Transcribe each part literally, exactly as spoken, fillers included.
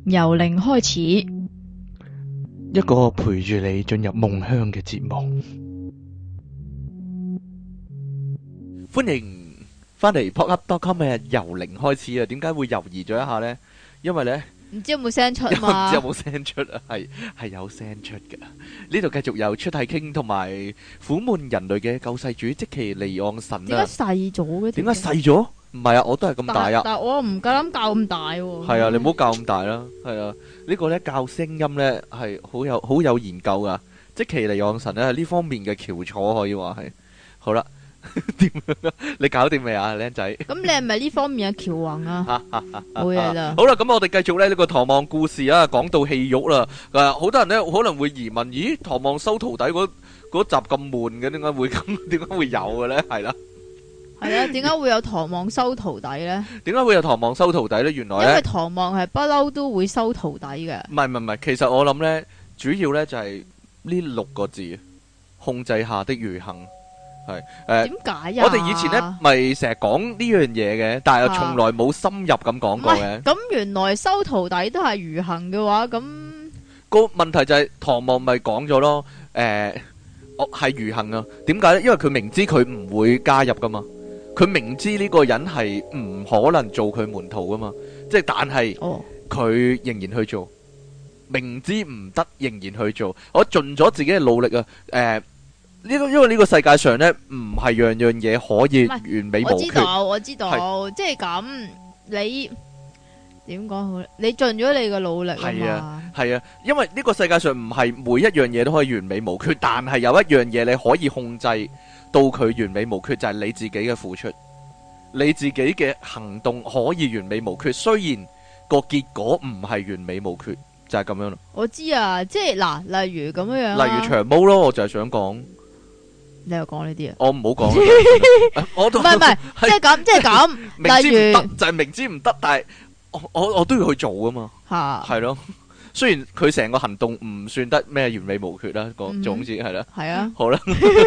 由零開始， 一個陪住你進入夢鄉嘅節目。歡迎翻嚟 pop up dot com 嘅由零開始啊！點解會猶豫咗一下呢？因為呢， 唔知有冇聲出因為唔嘛？ 知有冇聲出啊？係係有聲出㗎。呢度繼續有出體傾同埋苦悶人類嘅救世主即其離岸神啊！ 點解細咗嘅？ 點解細咗？唔係啊，我都係咁大啊！ 但係我唔夠膽教咁大喎。 係啊，你唔好教咁大啦。係啊，呢個咧教聲音咧係好有好有研究噶。即其離岸神咧係呢方面嘅翹楚，可以話係。好啦，點樣啊？你搞掂未啊，僆仔？ 咁你係咪呢方面嘅喬宏啊？冇嘢啦。 好啦，咁我哋繼續咧呢個唐望故事啊，講到戲肉啦。誒，好多人咧可能會疑問：咦，唐望收徒弟嗰嗰集咁悶嘅，點解會咁？點解會有嘅咧？係啦。 係啊，點解會有唐望收徒弟咧？ 點解會有唐望收徒弟咧？原來咧， 因為唐望係不嬲都會收徒弟嘅。 唔係唔係唔係，其實我諗咧，主要咧就係呢六個字：控制下的愚行。係誒， 點解呀？ 我哋以前咧咪成日講呢樣嘢嘅，但係又從來冇深入咁講過嘅。 咁原來收徒弟都係愚行嘅話，咁個問題就係唐望咪講咗咯。誒，我係愚行啊？點解咧？因為佢明知佢唔會加入噶嘛。佢明知呢個人係唔可能做佢門徒噶嘛，即係但係佢仍然去做，明知唔得仍然去做。我盡咗自己嘅努力啊！誒，呢個因為呢個世界上呢，唔係樣樣嘢可以完美無缺。 我知道，我知道，即係咁，你點講好咧？你盡咗你嘅努力啊嘛。 係啊，係啊，因為呢個世界上唔係每一樣嘢都可以完美無缺，但係有一樣嘢你可以控制到佢完美無缺，就係你自己嘅付出，你自己嘅行動可以完美無缺，雖然個結果唔係完美無缺，就係咁樣咯。 我知啊，即係嗱，例如咁樣樣， 例如長毛咯，我就係想講， 你又講呢啲啊？ 我唔好講，我都唔係唔係，即係咁，即係咁， 明知唔得例如就係明知唔得，但係我我我都要去做噶嘛， 吓， 係咯。雖然佢成個行動唔算得咩完美無缺啦，個總之係啦， 係啊， 好啦。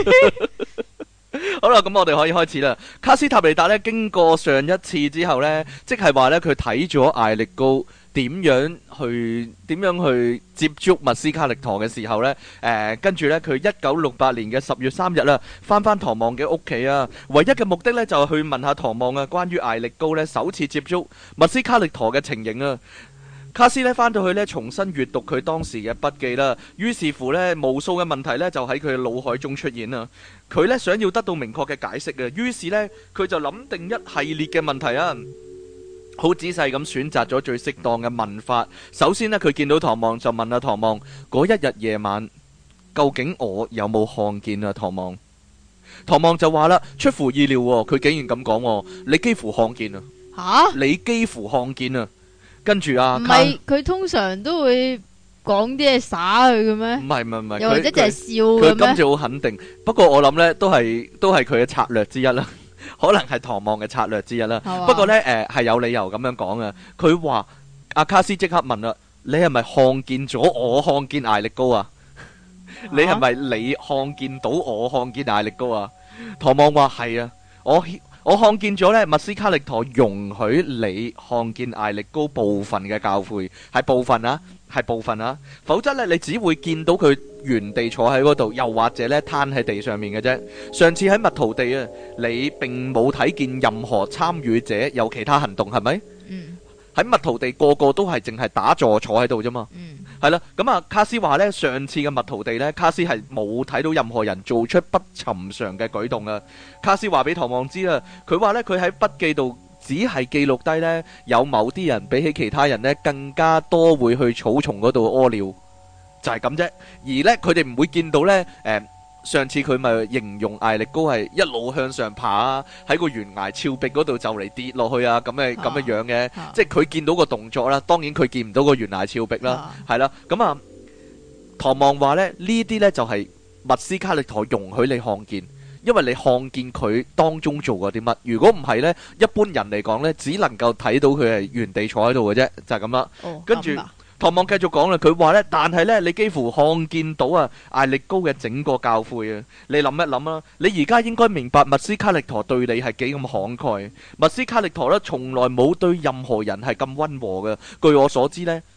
好啦，咁我哋可以開始啦。卡斯塔尼達咧，經過上一次之後呢，即係話呢，佢睇咗艾力高點樣去點樣去接觸密斯卡力陀嘅時候呢，誒、呃，跟住呢，佢一九六八年嘅十月三日啦，翻翻唐望嘅屋企啊，唯一嘅目的呢，就係去問下唐望啊，關於艾力高呢首次接觸密斯卡力陀嘅情形啊。卡斯呢翻到去呢，重新閱讀佢當時嘅筆記啦，於是乎呢，無數嘅問題呢就喺佢嘅腦海中出現啦。佢呢想要得到明確嘅解釋啊，於是呢，佢就諗定一系列嘅問題啊，好仔細咁選擇咗最適當嘅問法。首先呢，佢見到唐望就問阿唐望：嗰一日夜晚究竟我有冇看見啊？唐望，唐望就話啦，出乎意料喎，佢竟然咁講，你幾乎看見啊！ 吓， 你幾乎看見啊！跟住啊， 唔係佢通常都會講啲嘢耍佢嘅咩？ 唔係唔係唔係， 又或者就係笑嘅咩？佢咩？ 今次好肯定，不過我諗呢都係都係佢嘅策略之一啦，可能係唐望嘅策略之一啦。不過呢，誒係有理由咁樣講啊。佢話阿卡斯即刻問啦：你係咪看見咗我看見艾力高啊？你係咪你看見到我看見艾力高啊？唐望話係啊，我。我看見咗呢，密斯卡力陀容許你看見艾力高部分嘅教誨，係部分啊，係部分啊，否則呢，你只會見到佢原地坐喺嗰度，又或者呢攤喺地上面嘅啫。上次喺蜜桃地啊，你並冇睇見任何參與者有其他行動，係咪？嗯。喺蜜桃地個個都係淨係打坐坐喺度啫嘛。嗯。係啦，咁啊，卡斯話呢，上次嘅蜜桃地呢，卡斯係冇睇到任何人做出不尋常嘅舉動啊。卡斯話俾唐望知啦，佢話呢，佢喺筆記度只係記錄低呢，有某啲人比起其他人呢更加多會去草叢嗰度屙尿，就係咁啫。而呢，佢哋唔會見到呢。誒、呃。上次佢咪形容艾力高係一路向上爬啊，喺個懸崖峭壁嗰度就嚟跌落去啊，咁嘅咁嘅樣嘅，啊、即係佢見到個動作啦。當然佢見唔到個懸崖峭壁啦，係啦、啊。咁啊，唐望話咧，呢啲呢就係、是、密斯卡力陀容許你看見，因為你看見佢當中做過啲乜。如果唔係呢，一般人嚟講呢，只能夠睇到佢係原地坐喺度嘅啫，就係咁啦。哦、跟住。唐望繼續講啦，佢話呢，但係呢，你幾乎看見到啊艾力高嘅整個教誨啊！你諗一諗啊，你而家應該明白密斯卡力陀對你係幾咁慷慨。密斯卡力陀呢，從來冇對任何人係咁溫和嘅。據我所知呢，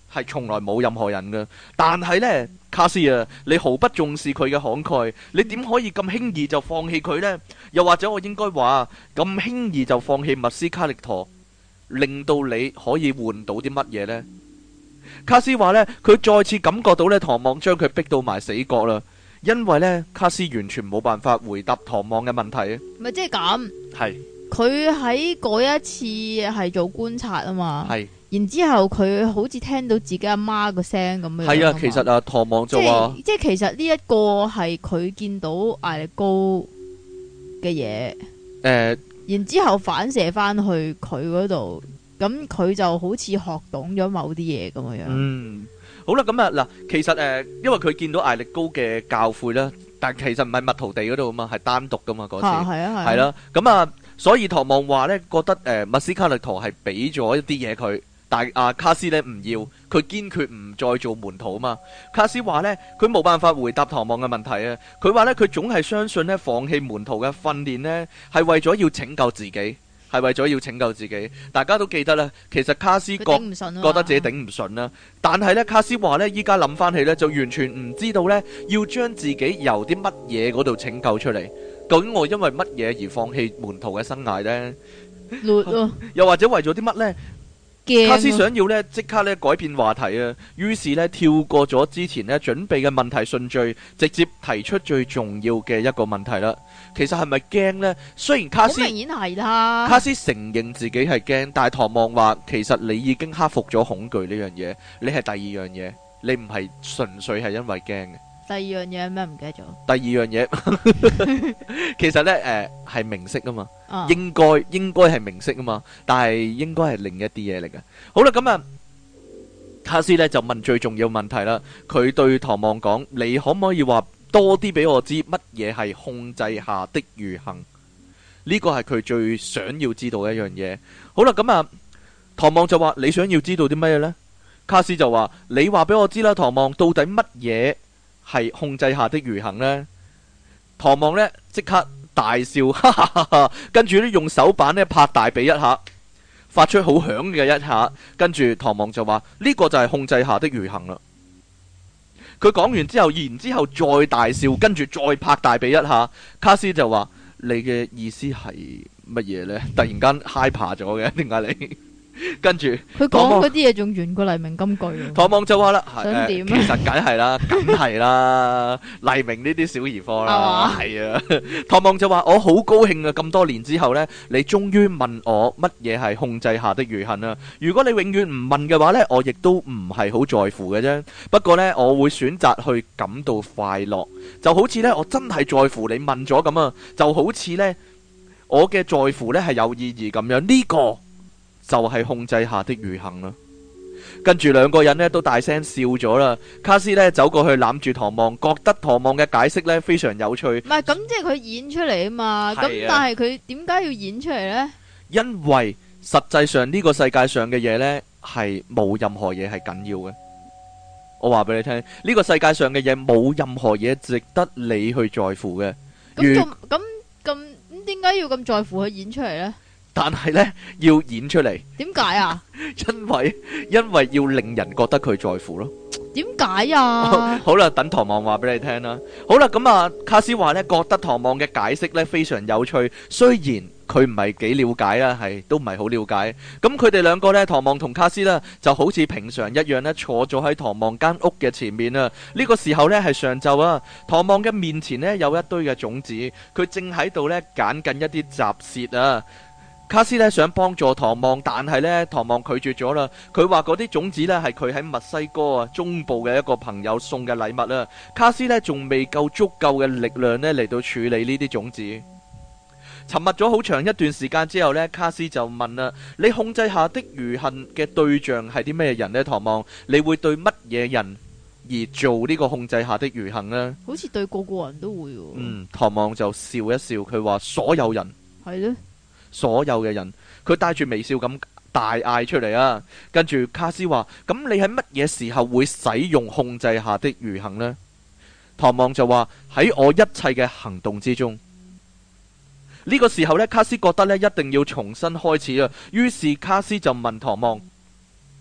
係從來冇任何人嘅。但係呢，卡斯啊，你毫不重視佢嘅慷慨，你點可以咁輕易就放棄佢呢？又或者我應該話咁輕易就放棄密斯卡力陀，令到你可以換到啲乜嘢呢？卡斯話呢，佢再次感覺到呢，唐望將佢逼到埋死角啦。因為呢，卡斯完全冇辦法回答唐望嘅問題啊。 咪即係咁， 係佢喺嗰一次係做觀察啊嘛。 係。 然之後佢好似聽到自己阿媽個聲咁樣。 係啊，其實啊，唐望就話， 即係其實呢一個係佢見到艾力高嘅嘢。誒、呃，然之後反射翻去佢嗰度，咁佢就好似學懂咗某啲嘢咁樣。嗯。 好啦，咁啊嗱，其實誒、呃，因為佢見到艾力高嘅教誨啦，但其實唔係密圖地嗰度啊嘛，係單獨噶嘛嗰次，係啊係，係啦，咁啊，所以唐望話咧，覺得誒，密斯卡力陀係俾咗一啲嘢佢，但係阿卡斯咧唔要，佢堅決唔再做門徒啊嘛。卡斯話咧，佢冇辦法回答唐望嘅問題啊，佢話咧，佢總係相信咧，放棄門徒嘅訓練咧，係為咗要拯救自己。係為咗要拯救自己，大家都記得啦。其實卡斯覺覺得自己頂唔順啦，但係呢，卡斯話呢，依家諗翻起呢，就完全唔知道呢，要將自己由啲乜嘢嗰度拯救出嚟。究竟我因為乜嘢而放棄門徒嘅生涯呢？又或者為咗啲乜呢？卡斯想要呢，即刻呢改變話題啊，於是呢，跳過咗之前呢準備嘅問題順序，直接提出最重要嘅一個問題啦。其實係咪驚呢？雖然卡斯明顯係啦， 卡斯承認自己係驚，但係唐望話其實你已經克服咗恐懼呢樣嘢，你係第二樣嘢，你唔係純粹係因為驚嘅。 第二樣嘢咩唔記得咗？ 第二樣嘢其實呢，誒係明色啊嘛，啊應該應該係明色啊嘛，但係應該係另一啲嘢嚟嘅。好啦，咁啊，卡斯呢就問最重要問題啦。佢對唐望講：你可唔可以話多啲俾我知乜嘢係控制下的愚行？呢個係佢最想要知道嘅一樣嘢。好啦，咁啊，唐望就話：你想要知道啲乜嘢呢？卡斯就話：你話俾我知啦，唐望，到底乜嘢係控制下的愚行呢？唐望呢即刻大笑，哈哈哈哈，跟住呢用手板呢拍大髀一下，發出好響嘅一下，跟住唐望就話：呢個就係控制下的愚行啦。佢講完之後，然之後再大笑，跟住再拍大髀一下。卡斯就話：你嘅意思係乜嘢呢？突然間 hyper 咗嘅，點解你？跟住佢講嗰啲嘢仲遠過黎明金句。 唐望就話啦， 想點、 呃、其實梗係啦，梗係啦，黎明呢啲小兒科啦，係啊。唐望就話：我好高興啊！咁多年之後呢，你終於問我乜嘢係控制下的愚行啊！如果你永遠唔問嘅話呢，我亦都唔係好在乎嘅啫。不過呢，我會選擇去感到快樂，就好似呢，我真係在乎你問咗咁啊！就好似呢，我嘅在乎呢係有意義咁樣。呢、這個就係控制下的愚行啦。跟住兩個人呢都大聲笑咗啦。卡斯呢走過去攬住唐望，覺得唐望嘅解釋呢非常有趣。唔係咁，即係佢演出嚟啊嘛。咁、啊、但係佢點解要演出嚟呢？ 因為實際上呢個世界上嘅嘢呢係冇任何嘢係緊要嘅。我話俾你聽，呢、這個世界上嘅嘢冇任何嘢值得你去在乎嘅。 咁咁咁咁點解要咁在乎佢演出嚟呢？ 但係呢，要演出嚟， 點解啊？ 因為因為要令人覺得佢在乎咯。 點解啊？ 好啦，等唐望話俾你聽啦。好啦，咁啊，卡斯話呢，覺得唐望嘅解釋呢非常有趣，雖然佢唔係幾了解啊，係都唔係好了解。咁佢哋兩個呢，唐望同卡斯呢，就好似平常一樣呢，坐咗喺唐望間屋嘅前面啊。呢個時候呢，係上晝啊，唐望嘅面前呢，有一堆嘅種子，佢正喺度呢，揀緊一啲雜屑啊。卡斯咧想幫助唐望，但係咧唐望拒絕咗啦。佢話嗰啲種子咧係佢喺墨西哥啊中部嘅一個朋友送嘅禮物啦。卡斯咧仲未夠足夠嘅力量咧嚟到處理呢啲種子。沉默咗好長一段時間之後咧，卡斯就問啦：你控制下的愚行嘅對象係啲咩人呢？唐望，你會對乜嘢人而做呢個控制下的愚行呢？ 好似對個個人都會喎。 嗯，唐望就笑一笑，佢話所有人係咧。 所有嘅人，佢帶住微笑咁大嗌出嚟啊！跟住卡斯話：咁你喺乜嘢時候會使用控制下的愚行呢？唐望就話：喺我一切嘅行動之中。呢個時候呢，卡斯覺得呢一定要重新開始啊！於是卡斯就問唐望：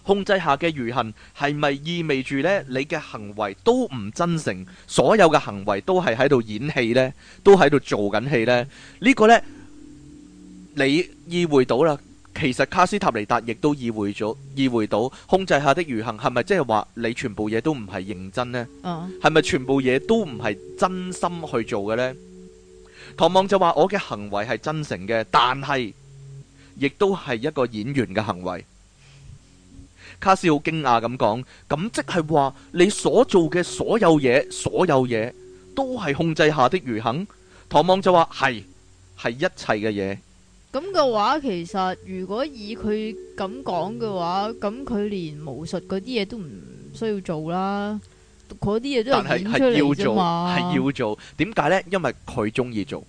控制下嘅愚行係咪意味住呢？你嘅行為都唔真誠，所有嘅行為都係喺度演戲呢？都喺度做緊戲呢？呢個呢，你意會到啦。其實卡斯塔尼達亦都意會咗，意會到控制下的愚行係咪即係話你全部嘢都唔係認真呢？係咪、uh. 全部嘢都唔係真心去做嘅呢？唐望就話我嘅行為係真誠嘅，但係亦都係一個演員嘅行為。卡斯好驚訝咁講，咁即係話你所做嘅所有嘢，所有嘢都係控制下的愚行。唐望就話係，係一切嘅嘢。 咁嘅話，其實如果以佢咁講嘅話，咁佢連巫術嗰啲嘢都唔需要做啦，嗰啲嘢都係演出嚟啫嘛。 係要做，點解呢？因為佢中意做，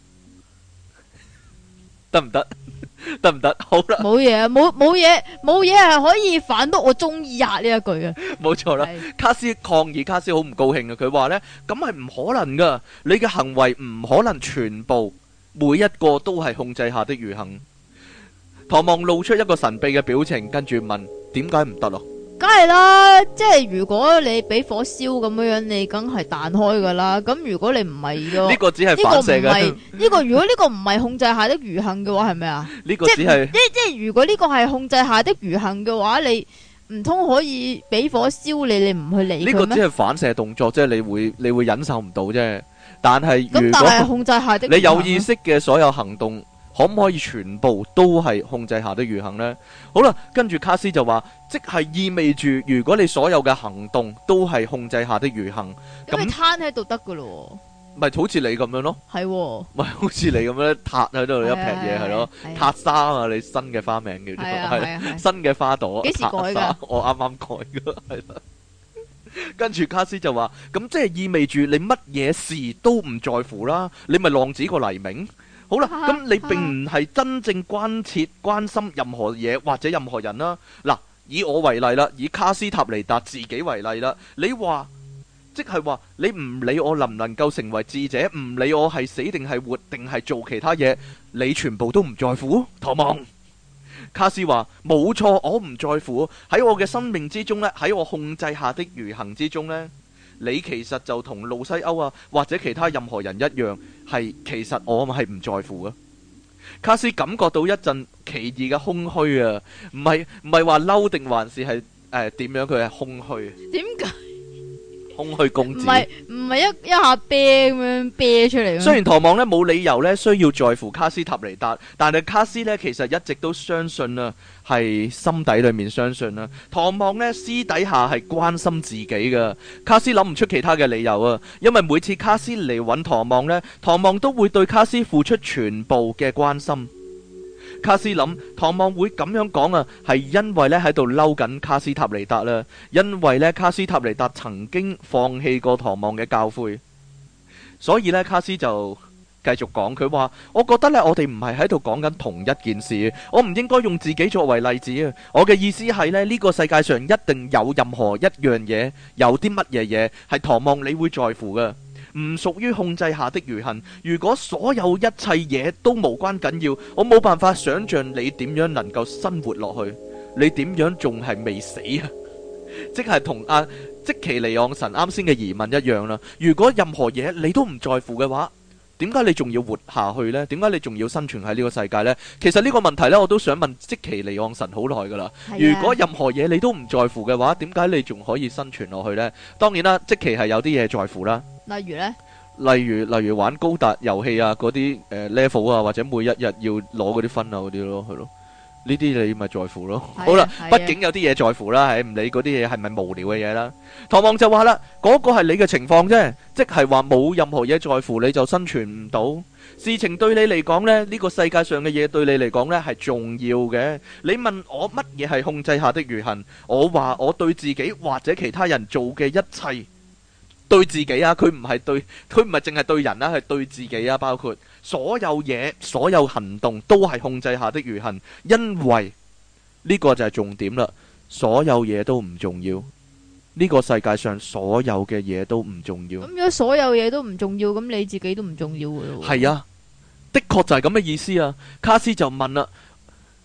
得唔得？得唔得？好啦， 冇嘢，冇冇嘢，冇嘢係可以反駁我中意呀呢一句嘅。 冇錯啦，卡斯抗議，卡斯好唔高興啊！佢話呢，咁係唔可能噶，你嘅行為唔可能全部。每一個都係控制下的愚行。唐望露出一個神秘嘅表情，跟住問：點解唔得咯？ 梗係啦，即係如果你俾火燒咁樣樣，你梗係彈開噶啦。咁如果你唔係嘅， 呢個只係反射嘅。 呢個如果呢個唔係控制下的愚行嘅話，係咪啊？ 呢個只係即即係如果呢個係控制下的愚行嘅話，你唔通可以俾火燒你？你唔去理佢咩？ 呢個只係反射動作，即係你會你會忍受唔到啫。但係如果但係控制下的你有意識嘅所有行動，可唔可以全部都係控制下的愚行呢？好啦，跟住卡斯就話，即係意味住如果你所有嘅行動都係控制下的愚行， 咁你攤喺度得噶咯？ 咪好似你咁樣咯， 係咪好似你咁樣塌喺度一撇嘢係咯，塔沙啊，你新嘅花名叫做係新嘅花朵， 幾時改噶？ 我啱啱改噶，係啦。跟住卡斯就話，咁即係意味住你乜嘢事都唔在乎啦，你咪浪子個黎明。好啦，咁你並唔係真正關切關心任何嘢或者任何人啦。嗱，以我為例啦，以卡斯塔尼達自己為例啦，你話即係話你唔理我能唔能夠成為智者，唔理我係死定係活定係做其他嘢，你全部都唔在乎？唐望。卡斯話冇錯，我唔在乎。喺我嘅生命之中呢，喺我控制下的愚行之中呢，你其實就同路西歐啊或者其他任何人一樣，係其實我係唔在乎啊。卡斯感覺到一陣奇異嘅空虛啊，唔係唔係話嬲定還是係誒點樣？佢係空虛。點解？空虛公子，唔係唔係一一下啤咁樣啤出嚟。 雖然唐望呢冇理由呢需要在乎卡斯塔尼達，但係卡斯呢其實一直都相信啊，係心底裏面相信啊。唐望呢私底下係關心自己噶。卡斯諗唔出其他嘅理由啊，因為每次卡斯嚟揾唐望呢，唐望都會對卡斯付出全部嘅關心。卡斯諗唐望會咁樣講啊，係因為咧喺度嬲緊卡斯塔尼達啦，因為咧卡斯塔尼達曾經放棄過唐望嘅教誨，所以咧卡斯就繼續講，佢話我覺得咧我哋唔係喺度講緊同一件事，我唔應該用自己作為例子啊，我嘅意思係咧呢個世界上一定有任何一樣嘢，有啲乜嘢嘢係唐望你會在乎嘅。唔屬於控制下的愚行。如果所有一切嘢都無關緊要，我冇辦法想象你點樣能夠生活落去，你點樣仲係未死啊？即係同阿即其尼昂神啱先嘅疑問一樣啦。如果任何嘢你都唔在乎嘅話，點解你仲要活下去呢？點解你仲要生存喺呢個世界呢？其實呢個問題呢，我都想問即其尼昂神好耐噶啦。如果任何嘢你都唔在乎嘅話，點解你仲可以生存落去呢？當然啦，即其係有啲嘢在乎啦。 例如呢？ 例如例如玩高達遊戲啊，嗰啲誒 level 啊，或者每一日要攞嗰啲分啊嗰啲咯，係咯。呢啲你咪在乎咯。好啦，畢竟有啲嘢在乎啦，係唔理嗰啲嘢係咪無聊嘅嘢啦。唐望就話啦，嗰個係你嘅情況啫，即係話冇任何嘢在乎你就生存唔到。事情對你嚟講呢，呢個世界上嘅嘢對你嚟講呢係重要嘅。你問我乜嘢係控制下的愚行，我話我對自己或者其他人做嘅一切。對自己啊，佢唔係對，佢唔係淨係對人啊，係對自己啊，包括所有嘢、所有行動都係控制下的愚行，因為呢個就係重點啦。所有嘢都唔重要，呢個世界上所有嘅嘢都唔重要。咁如果所有嘢都唔重要，咁你自己都唔重要嘅咯。 係啊，的確就係咁嘅意思啊。卡斯就問啦，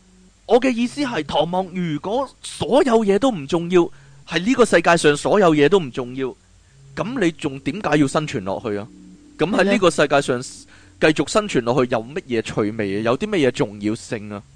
我嘅意思係，唐望，如果所有嘢都唔重要，係呢個世界上所有嘢都唔重要，咁你仲點解要生存落去啊？咁喺呢個世界上繼續生存落去有乜嘢趣味啊？有啲乜嘢重要性啊？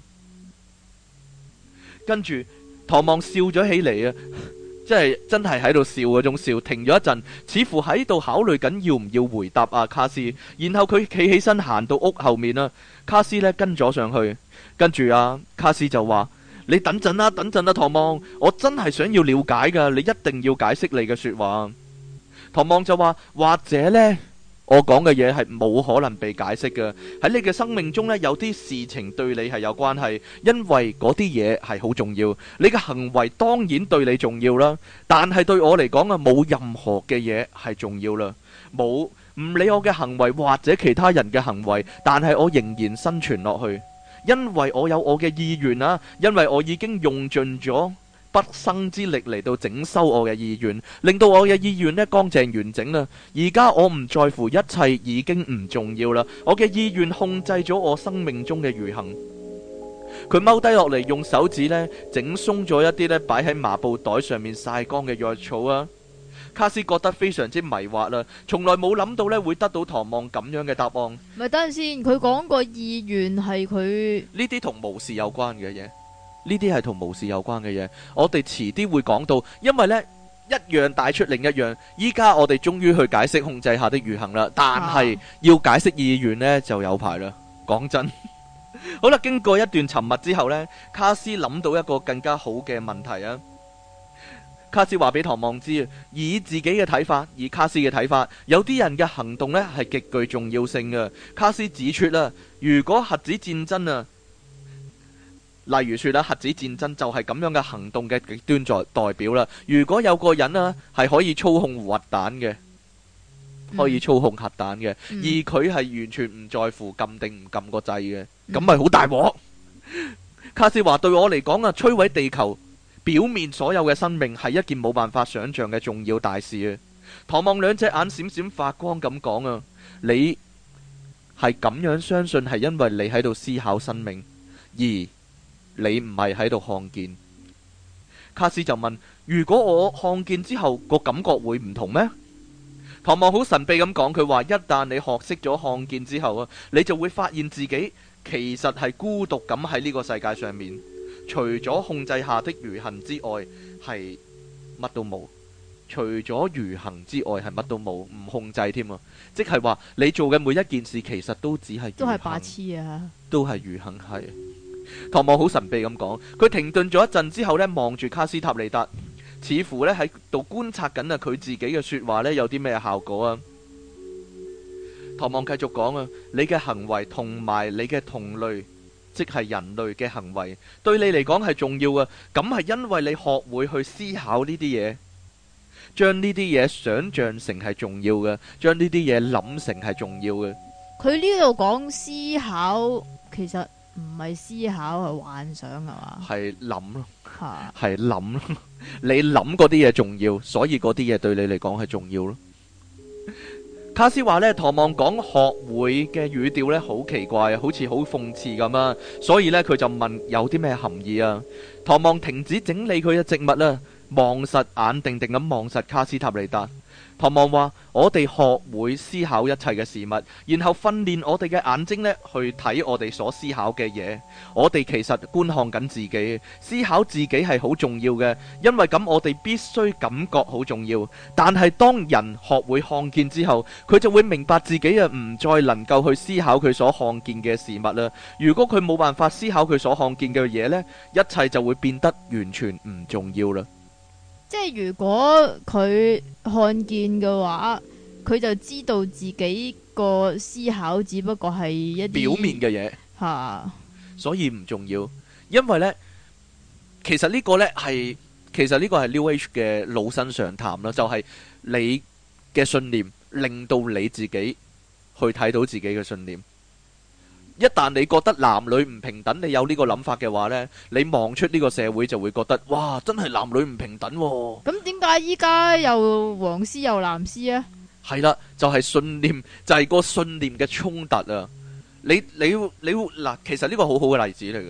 跟住唐望笑咗起嚟啊，即係真係喺度笑嗰種笑，停咗一陣，似乎喺度考慮緊要唔要回答阿卡斯。然後佢企起身行到屋後面啦，卡斯呢跟咗上去。跟住啊，卡斯就話：你等陣啦，等陣啦，唐望，我真係想要了解噶，你一定要解釋你嘅說話。唐望就話：或者呢，我講嘅嘢係冇可能被解釋嘅。喺你嘅生命中呢，有啲事情對你係有關係，因為嗰啲嘢係好重要。你嘅行為當然對你重要啦，但係對我嚟講啊，冇任何嘅嘢係重要啦。冇，唔理我嘅行為或者其他人嘅行為，但係我仍然生存落去。因為我有我嘅意願啊，因為我已經用盡咗畢生之力嚟到整修我嘅意願，令到我嘅意願呢乾淨完整啦。而家我唔在乎一切，已經唔重要啦。我嘅意願控制咗我生命中嘅餘行。佢踎低落嚟，用手指呢整鬆咗一啲呢擺喺麻布袋上面曬乾嘅藥草啊。卡斯覺得非常之迷惑啦，從來冇諗到咧會得到唐望咁樣嘅答案。 咪等陣先，佢講個意願係佢呢啲同巫士有關嘅嘢，呢啲係同巫士有關嘅嘢。我哋遲啲會講到，因為呢一樣帶出另一樣。依家我哋終於去解釋控制下的餘行啦，但係要解釋意願呢就有排啦。講真，好啦，經過一段沉默之後呢，卡斯諗到一個更加好嘅問題啊。卡斯話俾唐望知，以自己嘅睇法，以卡斯嘅睇法，有啲人嘅行動呢係極具重要性嘅。卡斯指出啦，如果核子戰爭啊，例如說啦，核子戰爭就係咁樣嘅行動嘅極端代代表啦。如果有個人啊係可以操控核彈嘅，可以操控核彈嘅，嗯、而佢係完全唔在乎撳定唔撳個掣嘅，咁咪好大鑊。卡斯話對我嚟講啊，摧毀地球表面所有嘅生命係一件冇辦法想象嘅重要大事啊！唐望兩隻眼閃閃發光咁講啊，你係咁樣相信係因為你喺度思考生命，而你唔係喺度看見。卡斯就問：如果我看見之後個感覺會唔同咩？唐望好神秘咁講，佢話一旦你學識咗看見之後啊，你就會發現自己其實係孤獨咁喺呢個世界上面。除咗控制下的餘行之外，係乜都冇。除咗餘行之外，係乜都冇，唔控制添啊！即係話你做嘅每一件事，其實都只係都係白痴啊！ 都係餘行係。唐望好神秘咁講，佢停頓咗一陣之後呢，望住卡斯塔尼達，似乎呢喺度觀察緊啊，佢自己嘅說話呢有啲咩效果啊？唐望繼續講啊，你嘅行為同埋你嘅同類，即係人類嘅行為，對你嚟講係重要嘅。咁係因為你學會去思考呢啲嘢，將呢啲嘢想象成係重要嘅，將呢啲嘢諗成係重要嘅。佢呢度講思考，其實唔係思考，係幻想係嘛？係諗咯，係諗咯。你諗嗰啲嘢重要，所以嗰啲嘢對你嚟講係重要咯。卡斯話呢，唐望講學會嘅語調呢好奇怪，好似好諷刺咁啊，所以呢，佢就問有啲咩含義啊？唐望停止整理佢嘅植物啦，望實眼定定咁望實卡斯塔尼達。唐望話：我哋學會思考一切嘅事物，然後訓練我哋嘅眼睛呢去睇我哋所思考嘅嘢。我哋其實觀看緊自己，思考自己係好重要嘅，因為咁我哋必須感覺好重要。但係當人學會看見之後，佢就會明白自己啊唔再能夠去思考佢所看見嘅事物啦。如果佢冇辦法思考佢所看見嘅嘢呢，一切就會變得完全唔重要啦。 即係如果佢看見嘅話，佢就知道自己個思考只不過係一啲表面嘅嘢， 吓， 所以唔重要。因為呢，其實呢個呢係，其實呢個係 New Age 嘅老生常談啦，就係你嘅信念令到你自己去睇到自己嘅信念。一旦你覺得男女唔平等，你有呢個諗法嘅話呢，你望出呢個社會就會覺得，哇，真係男女唔平等喎。 咁點解依家又黃絲又藍絲啊？ 係啦，就係信念，就係個信念嘅衝突啊！你你你嗱，其實呢個好好嘅例子嚟嘅。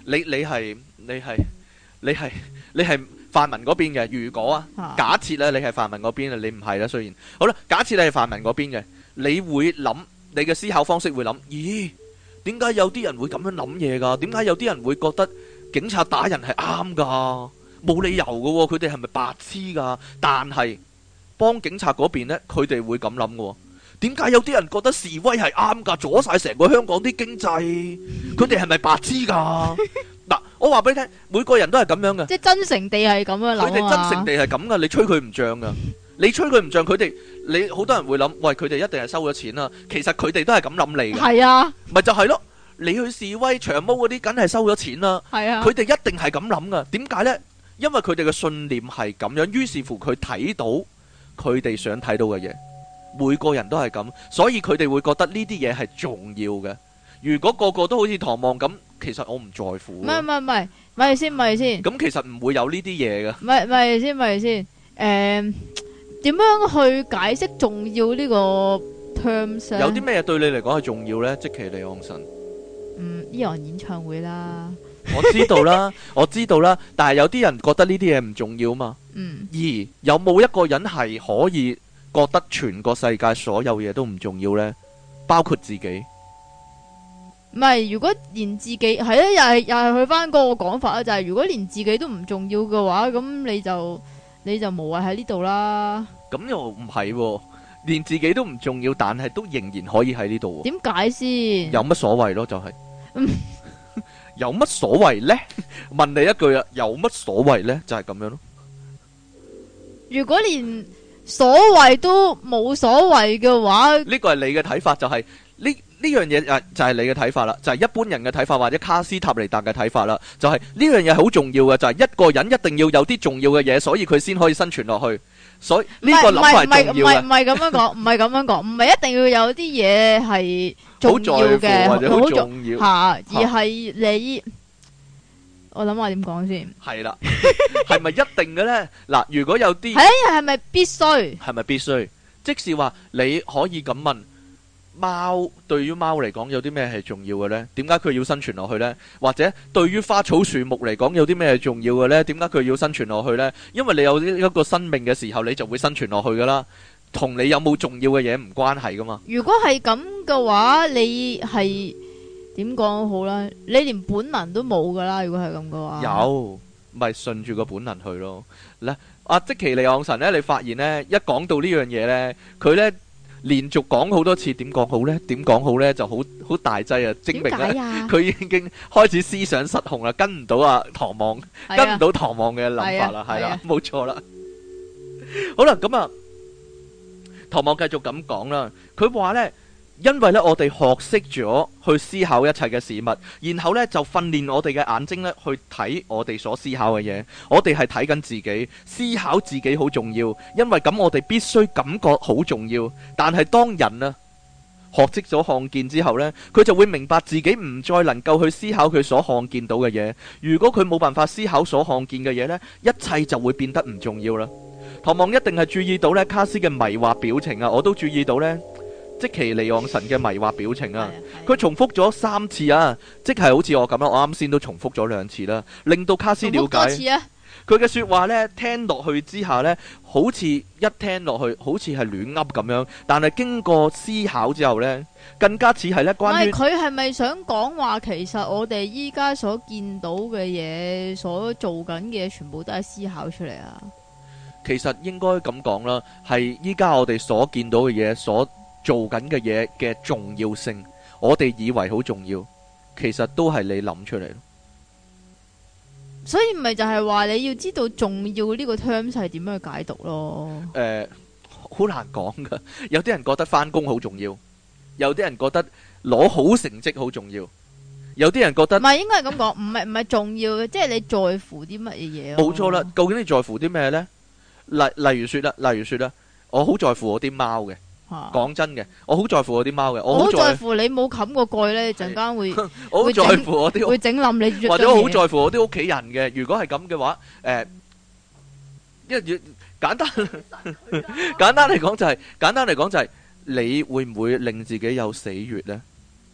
你你係你係你係你係泛民嗰邊嘅。如果啊， 啊假設咧你係泛民嗰邊啊，你唔係啦。雖然好啦，假設你係泛民嗰邊嘅，你會諗你嘅思考方式會諗，咦？點解有啲人會咁樣諗嘢㗎？點解有啲人會覺得警察打人係啱㗎？冇理由㗎喎，佢哋係咪白痴㗎？但係幫警察嗰邊呢，佢哋會咁諗嘅喎。點解有啲人覺得示威係啱㗎？阻晒成個香港啲經濟，佢哋係咪白痴㗎？嗱，我話俾你聽，每個人都係咁樣嘅。 即係真誠地係咁樣諗啊！ 佢哋真誠地係咁㗎，你吹佢唔脹㗎。你吹佢唔脹，佢哋你好多人會諗，喂，佢哋一定係收咗錢啦。其實佢哋都係咁諗你嘅。 係啊， 咪就係咯。你去示威長毛嗰啲，梗係收咗錢啦。 係啊， 佢哋一定係咁諗㗎。點解呢？因為佢哋嘅信念係咁樣，於是乎佢睇到佢哋想睇到嘅嘢。每個人都係咁，所以佢哋會覺得呢啲嘢係重要嘅。如果個個都好似唐望咁，其實我唔在乎。 唔係唔係唔係，咪先咪先。 咁其實唔會有呢啲嘢㗎。 咪咪先咪先。誒，點樣去解釋重要呢個 terms？ 有啲咩對你嚟講係重要呢？即其離岸神。 嗯，Eon演唱會啦。 我知道啦，我知道啦。但係有啲人覺得呢啲嘢唔重要嘛。 嗯。 而有冇一個人係可以覺得全個世界所有嘢都唔重要呢？包括自己。 唔係，如果連自己係咧，又係又係去翻嗰個講法啦，就係、是、如果連自己都唔重要嘅話，咁你就你就無謂喺呢度啦。 咁又唔係喎，連自己都唔重要，但係都仍然可以喺呢度。 點解先？ 有乜所謂咯？就係、是，有乜所謂呢？問你一句啊，有乜所謂呢？就係、是、咁樣咯。 如果連所謂都冇所謂嘅話， 呢個係你嘅睇法，就係呢呢樣嘢誒，就係你嘅睇法啦，就係、是、一般人嘅睇法或者卡斯塔尼達嘅睇法啦，就係呢樣嘢好重要嘅，就係、是、一個人一定要有啲重要嘅嘢，所以佢先可以生存落去。所以呢個諗法係重要嘅。 唔係唔係咁樣講，唔係咁樣講，唔係一定要有啲嘢係重要嘅， 或者好重要吓，而係你。我諗下點講先。 係啦，係咪一定嘅呢？嗱，如果有啲係係咪必須？ 係咪必須？即是話你可以咁問，貓對於貓嚟講有啲咩係重要嘅呢？點解佢要生存落去呢？或者對於花草樹木嚟講有啲咩係重要嘅呢？點解佢要生存落去呢？因為你有一個生命嘅時候，你就會生存落去噶啦，同你有冇重要嘅嘢唔關係噶嘛。 如果係咁嘅話，你係。點講好啦？你連本能都冇噶啦，如果係咁嘅話， 有咪順住個本能去咯。咧，阿即其利昂神咧，你發現咧，一講到呢樣嘢咧，佢咧連續講好多次，點講好咧？點講好咧？就好好大劑啊！證明咧，佢已經開始思想失控啦，跟唔到啊唐望，跟唔到唐望嘅諗法啦，係啦，冇錯啦。好啦，咁啊，唐望繼續咁講啦，佢話咧。因為咧，我哋學識咗去思考一切嘅事物，然後咧就訓練我哋嘅眼睛咧去睇我哋所思考嘅嘢。我哋係睇緊自己，思考自己好重要，因為咁我哋必須感覺好重要。但係當人啊學識咗看見之後呢，佢就會明白自己唔再能夠去思考佢所看見到嘅嘢。如果佢冇辦法思考所看見嘅嘢呢，一切就會變得唔重要啦。唐望一定係注意到呢卡斯嘅迷惑表情啊，我都注意到呢。即其離岸神嘅迷惑表情啊，佢重複咗三次啊，即係好似我咁啦，我啱先都重複咗兩次啦，令到卡斯了解佢嘅說話呢，聽落去之下呢，好似一聽落去好似係亂噏咁樣，但係經過思考之後呢，更加似係呢關於佢係咪想講話，其實我哋依家所見到嘅嘢，所做緊嘅嘢，全部都係思考出嚟啊？ 其實應該咁講啦，係依家我哋所見到嘅嘢所做緊嘅嘢嘅重要性，我哋以為好重要，其實都係你諗出嚟。 所以咪就係話你要知道重要呢個 terms 係點樣去解讀咯。 誒、呃，好難講噶。有啲人覺得返工好重要，有啲人覺得攞好成績好重要，有啲人覺得唔係應該係咁講，唔係唔係重要嘅，即係你在乎啲乜嘢嘢。 冇錯啦，究竟你在乎啲咩呢？例例如說啦，例如說啦，我好在乎我啲貓嘅。講真嘅，我好在乎我啲貓嘅，我好在乎你冇冚個蓋呢，陣間會我好在乎我啲會整冧你， 或者我好在乎我啲屋企人嘅。如果係咁嘅話，誒、呃，因為簡單簡單嚟講就係、是，簡單嚟講就係、是，你會唔會令自己有死穴呢？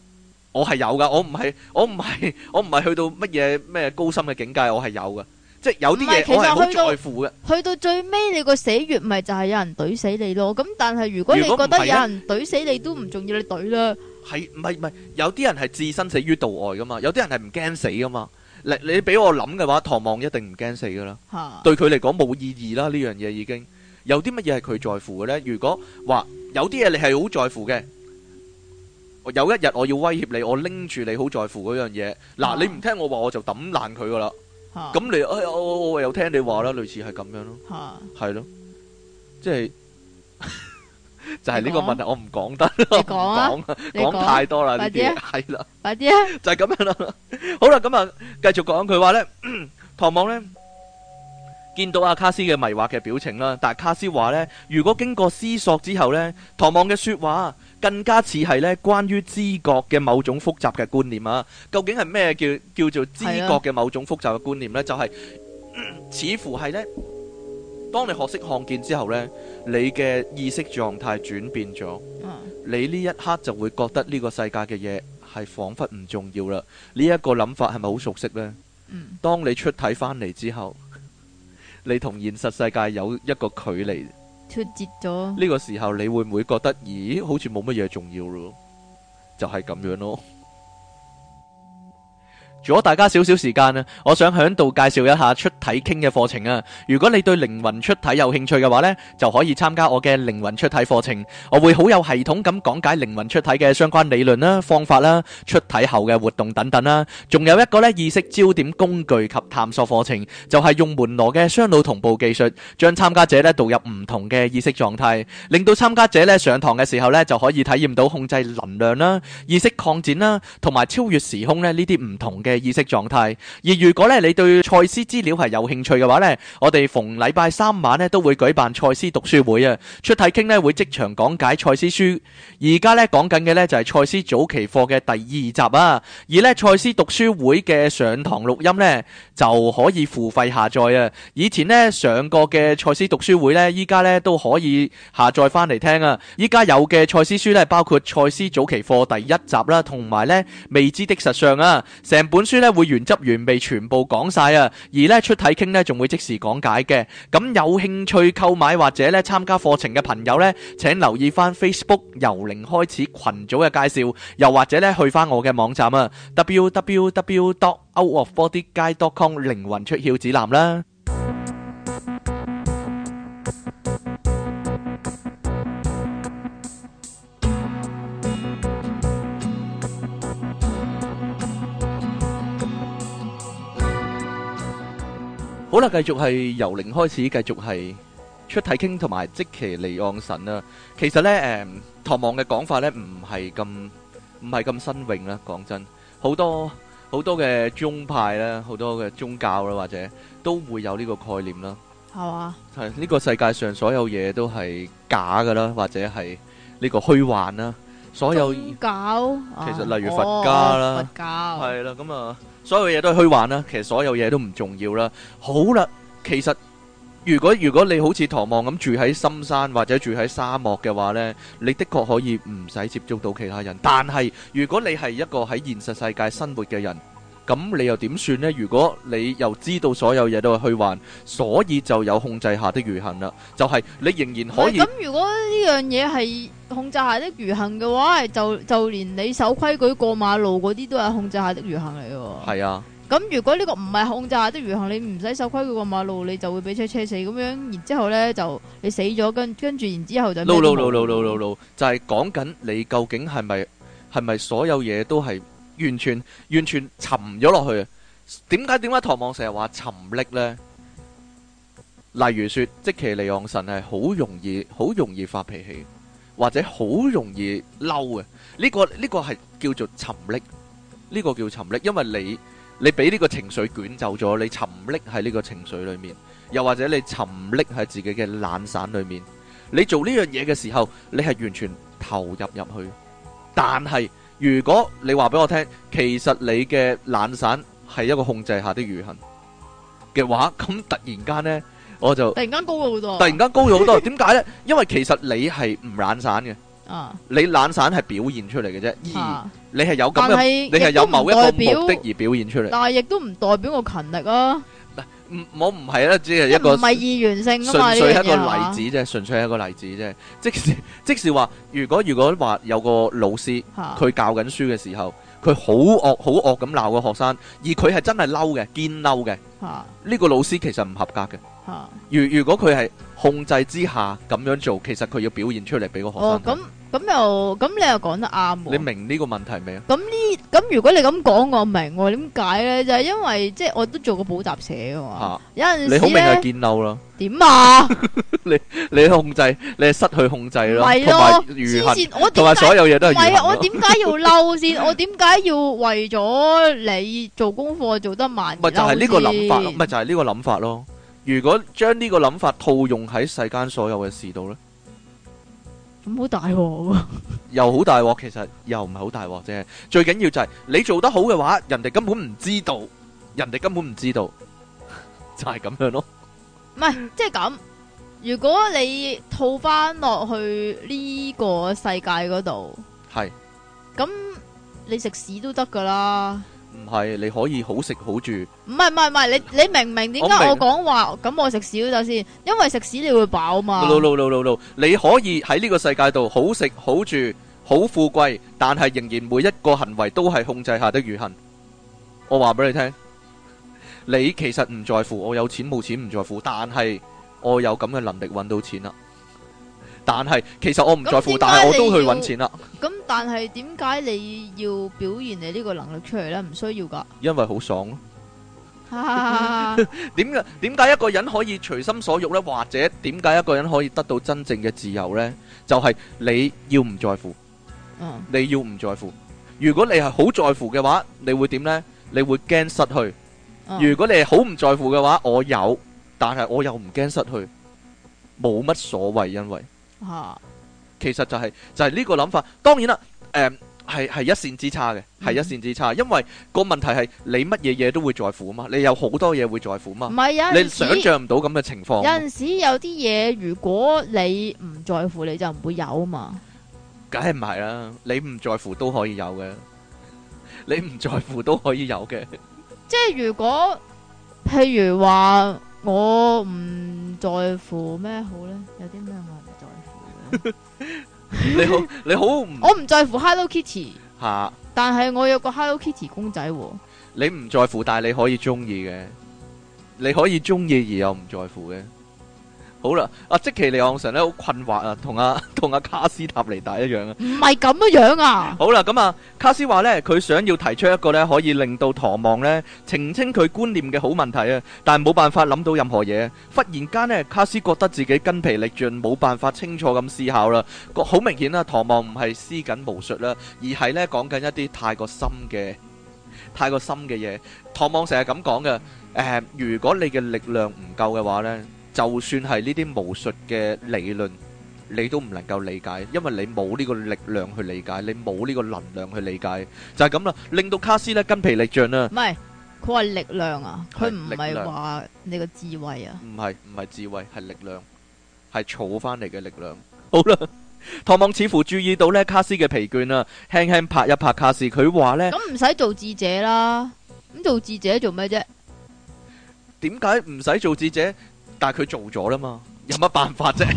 我係有噶，我唔係我唔係我唔係去到乜嘢咩高深嘅境界，我係有噶，即係有啲嘢我係好在乎嘅。 去到最尾你個死穴咪就係有人懟死你咯。咁但係如果你覺得有人懟死你都唔重要，你懟啦。 係唔係唔係？有啲人係置身死於度外噶嘛，有啲人係唔驚死噶嘛。你你俾我諗嘅話，唐望一定唔驚死噶啦。 哈對佢嚟講冇意義啦，呢樣嘢已經有啲乜嘢係佢在乎嘅呢？如果話有啲嘢你係好在乎嘅，有一日我要威脅你，我拎住你好在乎嗰樣嘢，嗱你唔聽我話，我就抌爛佢噶啦。咁你哎我我我又聽你話啦，類似係咁樣咯，係咯，即係就係呢個問題，我唔講得， 你講啊， 講太多啦呢啲，係啦， 快啲啊， 就係咁樣啦。好啦，咁啊，繼續講佢話咧，唐望咧見到阿卡斯嘅迷惑嘅表情啦，但係卡斯話咧，如果經過思索之後咧，唐望嘅說話更加似係咧關於知覺嘅某種複雜嘅觀念啊。究竟係咩叫叫做知覺嘅某種複雜嘅觀念咧？就係似乎係咧，當你學識看見之後咧，你嘅意識狀態轉變咗，你呢一刻就會覺得呢個世界嘅嘢係仿佛唔重要啦。呢一個諗法係咪好熟悉咧？當你出體翻嚟之後，你同現實世界有一個距離脫節咗， 呢個時候你會唔會覺得，咦，好似冇乜嘢重要咯？就係咁樣咯。如果大家少少時間啊，我想喺度介紹一下出體傾嘅課程啊。如果你對靈魂出體有興趣嘅話呢，就可以參加我嘅靈魂出體課程。我會好有系統咁講解靈魂出體嘅相關理論啦、方法啦、出體後嘅活動等等啦。仲有一個呢意識焦點工具及探索課程，就係用門羅嘅雙腦同步技術，將參加者呢導入唔同嘅意識狀態，令到參加者呢上堂嘅時候呢就可以體驗到控制能量啦、意識擴展啦，同埋超越時空呢呢啲唔同嘅嘅意識狀態。而如果咧你對賽斯資料係有興趣嘅話呢，我哋逢禮拜三晚咧都會舉辦賽斯讀書會啊。出體傾咧會即場講解賽斯書。而家咧講緊嘅呢就係賽斯早期課嘅第二集啊。而呢賽斯讀書會嘅上堂錄音呢就可以付費下載啊。以前呢上過嘅賽斯讀書會呢，依家呢都可以下載翻嚟聽啊。依家有嘅賽斯書呢，包括賽斯早期課第一集啦，同埋呢未知的實相啊。成本書咧會原汁原味全部講晒啊，而咧出體傾咧仲會即時講解嘅。咁有興趣購買或者咧參加課程嘅朋友咧，請留意翻 Facebook 由零開始群組嘅介紹，又或者咧去翻我嘅網站啊 double-u double-u double-u dot out of body guide dot com 靈魂出竅指南啦。好啦，繼續係由零開始，繼續係出體傾同埋即其離岸神啦。其實呢，誒、嗯，唐望嘅講法呢，唔係咁唔係咁新穎啦。講真，好多好多嘅宗派啦，好多嘅宗教啦，或者都會有呢個概念啦。 係嘛？ 係呢、這個世界上所有嘢都係假噶啦，或者係呢個虛幻啦。所有宗教其實例如佛家啦， 哦、佛教係啦，咁啊。所有嘢都係虛幻啦，其實所有嘢都唔重要啦。好啦，其實如果如果你好似唐望咁住喺深山或者住喺沙漠嘅話呢，你的確可以唔使接觸到其他人。但係如果你係一個喺現實世界生活嘅人，咁你又點算呢？如果你又知道所有嘢都係虛幻，所以就有控制下的餘幸啦。就係、是、你仍然可以。 咁如果呢樣嘢係控制下的餘幸嘅話，就就連你守規矩過馬路嗰啲都係控制下的餘幸嚟嘅。係啊。 咁如果呢個唔係控制下的餘幸，你唔使守規矩過馬路，你就會俾車車死咁樣，然之後呢就你死咗，跟跟住然之後就。 no no no no no no 就係講緊你究竟係咪係咪所有嘢都係完全完全沉咗落去啊？點解點解唐望成日話沉溺呢？例如說，即其利昂神係好容易好容易發脾氣，或者好容易嬲嘅。呢個呢個係叫做沉溺，呢個叫沉溺，因為你你俾呢個情緒捲走咗，你沉溺喺呢個情緒裏面，又或者你沉溺喺自己嘅懶散裏面。你做呢樣嘢嘅時候，你係完全投入入去。但係如果你話俾我聽，其實你嘅懶散係一個控制下的餘幸嘅話，咁突然間呢，我就突然間高咗好多。 突然間高咗好多，點解呢？因為其實你係唔懶散嘅， 啊， 你懶散係表現出嚟嘅啫，而啊你係有咁嘅， 但係你係有某一個亦都唔代表目的而表現出嚟。 但係亦都唔代表我勤力啊， 唔，我唔係啦，只係一個唔係意願性啊嘛， 純粹係一個呢樣嘢係嘛例子啫，純粹係一個例子啫。即是即是話，如果如果話有個老師， 嚇佢教緊書嘅時候，佢好惡好惡咁鬧個學生，而佢係真係嬲嘅，堅嬲嘅， 嚇呢個老師其實唔合格嘅。 嚇。 如如果佢係控制之下咁樣做，其實佢要表現出嚟俾個學哦， 生睇。 咁咁又咁你又講得啱喎。 你明呢個問題未啊？ 咁呢？咁如果你咁講，我明喎。點解咧？就係因為即係我都做過補習社噶嘛。有陣時你好明係咧堅嬲啦， 點啊？ 你控制，你係失去控制咯， 係同埋咯， 愚恨， 黐線！我同埋點解所有嘢都係唔係啊？我愚恨咯。 點解要嬲先？我點解要為咗你做功課做得慢而咪就係呢個諗法咯， 嬲先咪就係呢個諗法咯。如果將呢個諗法套用喺世間所有嘅事度咧， 咁好大鑊喎！ 又好大鑊，其實又唔係好大鑊啫。最緊要就係你做得好嘅話，人哋根本唔知道，人哋根本唔知道，就係咁樣咯。 唔係即係咁。如果你套翻落去呢個世界嗰度， 係咁你食屎都得噶啦。 唔係你可以好食好住？ 唔係唔係唔係，你你明唔明點解我明我講話咁我食屎都得先？因為食屎你會飽嘛。 no no no no no，你可以喺呢個世界度好食好住好富貴，但係仍然每一個行為都係控制下的愚行。我話俾你聽，你其實唔在乎我有錢冇錢唔在乎，但係我有咁嘅能力揾到錢啦。但係其實我唔在乎，但係我都去揾錢啦。 咁但係點解你要表現你呢個能力出嚟呢？唔需要噶。 因為好爽咯。 哈點解點解一個人可以隨心所欲呢？或者點解一個人可以得到真正嘅自由呢？就係你要唔在乎， 嗯你要唔在乎。如果你係好在乎嘅話，你會點呢？你會驚失去。 嗯如果你係好唔在乎嘅話，我有，但係我又唔驚失去，冇乜所謂，因為吓其實就係就係呢個諗法。當然啦，誒係係一線之差嘅，係嗯一線之差。因為個問題係你乜嘢嘢都會在乎啊嘛，你有好多嘢會在乎啊嘛， 唔係有你陣時想象唔到咁嘅情況。 有陣時有啲嘢，如果你唔在乎，你就唔會有啊嘛。 梗係唔係啦，你唔在乎都可以有嘅，你唔在乎都可以有嘅。 即係如果譬如話我唔在乎咩好呢？有啲咩我唔在乎嘅？ 你好，你好唔我唔在乎 Hello Kitty， 吓， 但係我有個 Hello Kitty 公仔喎。 你唔在乎，但係你可以中意嘅，你可以中意而又唔在乎嘅。好啦，阿積淇離岸神咧好困惑啊，同阿同阿卡斯塔尼達一樣啊。 唔係咁樣樣啊！ 好啦，咁啊，卡斯話呢，佢想要提出一個呢可以令到唐望呢澄清佢觀念嘅好問題啊，但係冇辦法諗到任何嘢。忽然間呢，卡斯覺得自己筋疲力盡，冇辦法清楚咁思考啦。好明顯啦，唐望唔係施緊巫術啦，而係呢講緊一啲太過深嘅、太過深嘅嘢。唐望成日咁講嘅，誒，如果你嘅力量唔夠嘅話呢，就算係呢啲巫術嘅理論，你都唔能夠理解，因為你冇呢個力量去理解，你冇呢個能量去理解，就係咁啦，令到卡斯咧筋疲力盡啦。 唔係，佢話力量啊，佢唔係係力量話你個智慧啊。 唔係唔係智慧，係力量，係儲翻嚟嘅力量。好啦，唐望似乎注意到咧卡斯嘅疲倦啦，輕輕拍一拍卡斯，佢話咧， 咁唔使做智者啦，咁做智者做咩啫？ 點解唔使做智者？但係佢做咗啦嘛，有乜辦法啫？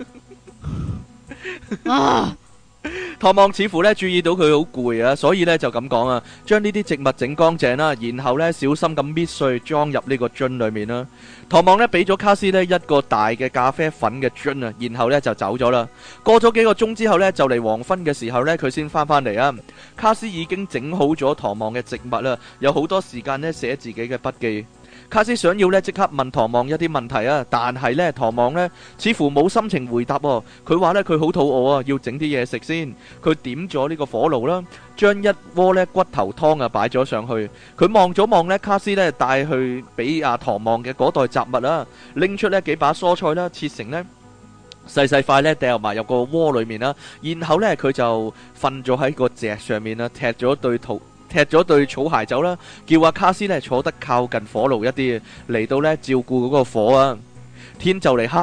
啊！ 唐望似乎咧注意到佢好攰啊，所以咧就咁講啊，將呢啲植物整乾淨啦，然後咧小心咁搣碎，裝入呢個樽裏面啦。唐望咧俾咗卡斯呢一個大嘅咖啡粉嘅樽啊，然後咧就走咗啦。過咗幾個鐘之後咧，就嚟黃昏嘅時候咧，佢先翻返嚟啊。卡斯已經整好咗唐望嘅植物啦，有好多時間咧寫自己嘅筆記。卡斯想要咧即刻問唐望一啲問題啊，但係咧唐望咧似乎冇心情回答喎。佢話咧佢好肚餓啊，要整啲嘢食先。佢點咗呢個火爐啦，將一鍋咧骨頭湯啊擺咗上去。佢望咗望咧卡斯咧帶去俾阿唐望嘅嗰袋雜物啦，拎出呢幾把蔬菜啦，切成呢細細塊咧掉埋入個鍋裏面啦。然後咧佢就瞓咗喺個席上面啦，踢咗對肚。踢咗對草鞋走啦，叫阿卡斯咧坐得靠近火爐一啲，嚟到咧照顧嗰個火啊。天就嚟黑啦，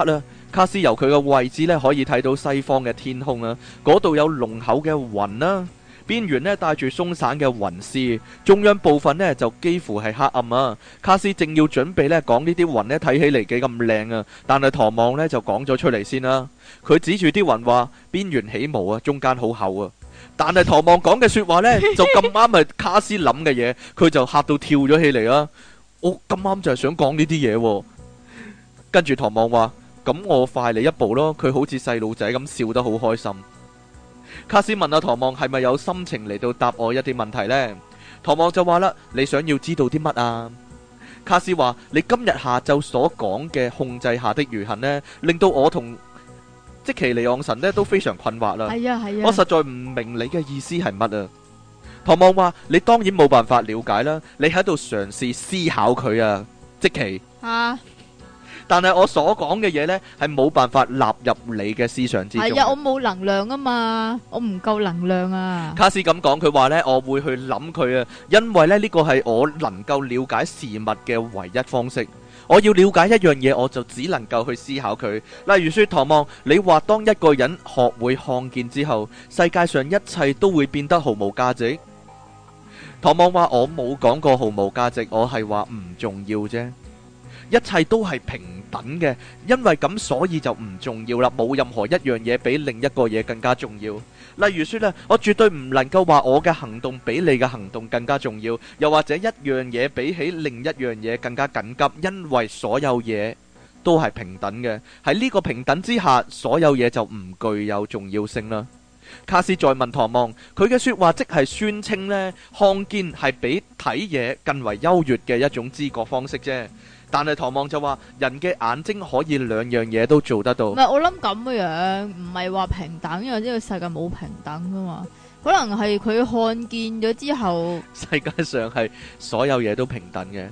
卡斯由佢嘅位置呢，可以睇到西方嘅天空啊，嗰度有濃厚嘅雲啦，邊緣呢帶住鬆散嘅雲絲，中央部分呢就幾乎係黑暗啊。卡斯正要準備呢講呢啲雲呢睇起嚟幾咁靚啊，但係唐望呢就講咗出嚟先啦。佢指住啲雲話：邊緣起毛啊，中間好厚啊。但係唐望講嘅說話呢，就咁啱係卡斯諗嘅嘢，佢就嚇到跳咗起嚟啦。我咁啱就係想講呢啲嘢，跟住唐望話：咁我快你一步咯。佢好似細路仔咁笑得好開心。卡斯問阿唐望係咪有心情嚟到答我一啲問題呢？唐望就話啦：你想要知道啲乜啊？卡斯話：你今日下晝所講嘅控制下的餘恨呢，令到我同即其尼昂神呢都非常困惑啦。 係啊係啊， 我實在唔明你嘅意思係乜啊？唐望話：你當然冇辦法了解啦，你喺度嘗試思考佢啊，即其啊。但係我所講嘅嘢呢，係冇辦法納入你嘅思想之中。係啊， 我冇能量啊嘛，我唔夠能量啊。 卡斯咁講，佢話呢，我會去諗佢啊，因為呢呢個係我能夠了解事物嘅唯一方式。我要了解一樣嘢，我就只能夠去思考佢。例如說，唐望，你話當一個人學會看見之後，世界上一切都會變得毫無價值。唐望話：我冇講過毫無價值，我係話唔重要啫。一切都係平等嘅，因為咁所以就唔重要啦。冇任何一樣嘢比另一個嘢更加重要。例如說咧，我絕對唔能夠話我嘅行動比你嘅行動更加重要，又或者一樣嘢比起另一樣嘢更加緊急，因為所有嘢都係平等嘅。喺呢個平等之下，所有嘢就唔具有重要性啦。卡斯再問唐望，佢嘅說話即係宣稱呢，看見係比睇嘢更為優越嘅一種知覺方式啫。但係唐望就話，人嘅眼睛可以兩樣嘢都做得到。 唔係，我諗咁嘅樣，唔係話平等，因為呢個世界冇平等噶嘛。可能係佢看見咗之後， 世界上係所有嘢都平等嘅。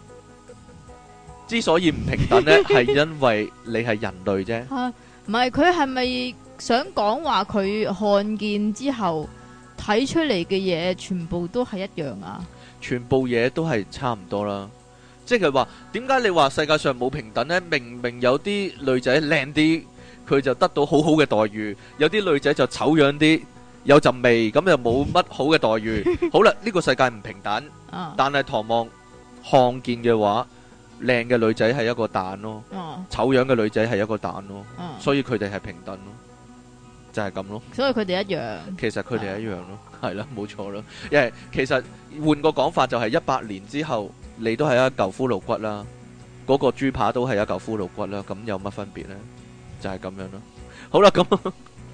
之所以唔平等呢，係因為你係人類啫。 吓，唔係，佢係咪想講話佢看見之後睇出嚟嘅嘢全部都係一樣啊？ 全部嘢都係差唔多啦。即係話，點解你話世界上冇平等呢？明明有啲女仔靚啲，佢就得到好好嘅待遇；有啲女仔就醜樣啲，有陣味，咁又冇乜好嘅待遇。好啦，呢個世界唔平等，但係唐望看見嘅話，靚嘅女仔係一個蛋咯，醜樣嘅女仔係一個蛋咯，所以佢哋係平等咯，就係咁咯。 所以佢哋一樣。 其實佢哋一樣咯，係啦，冇錯咯。因為其實換個講法就係一百年之後。你都係一嚿骷髏骨啦，嗰個豬扒都係一嚿骷髏骨啦，咁有乜分別呢？就係咁樣咯。好啦，咁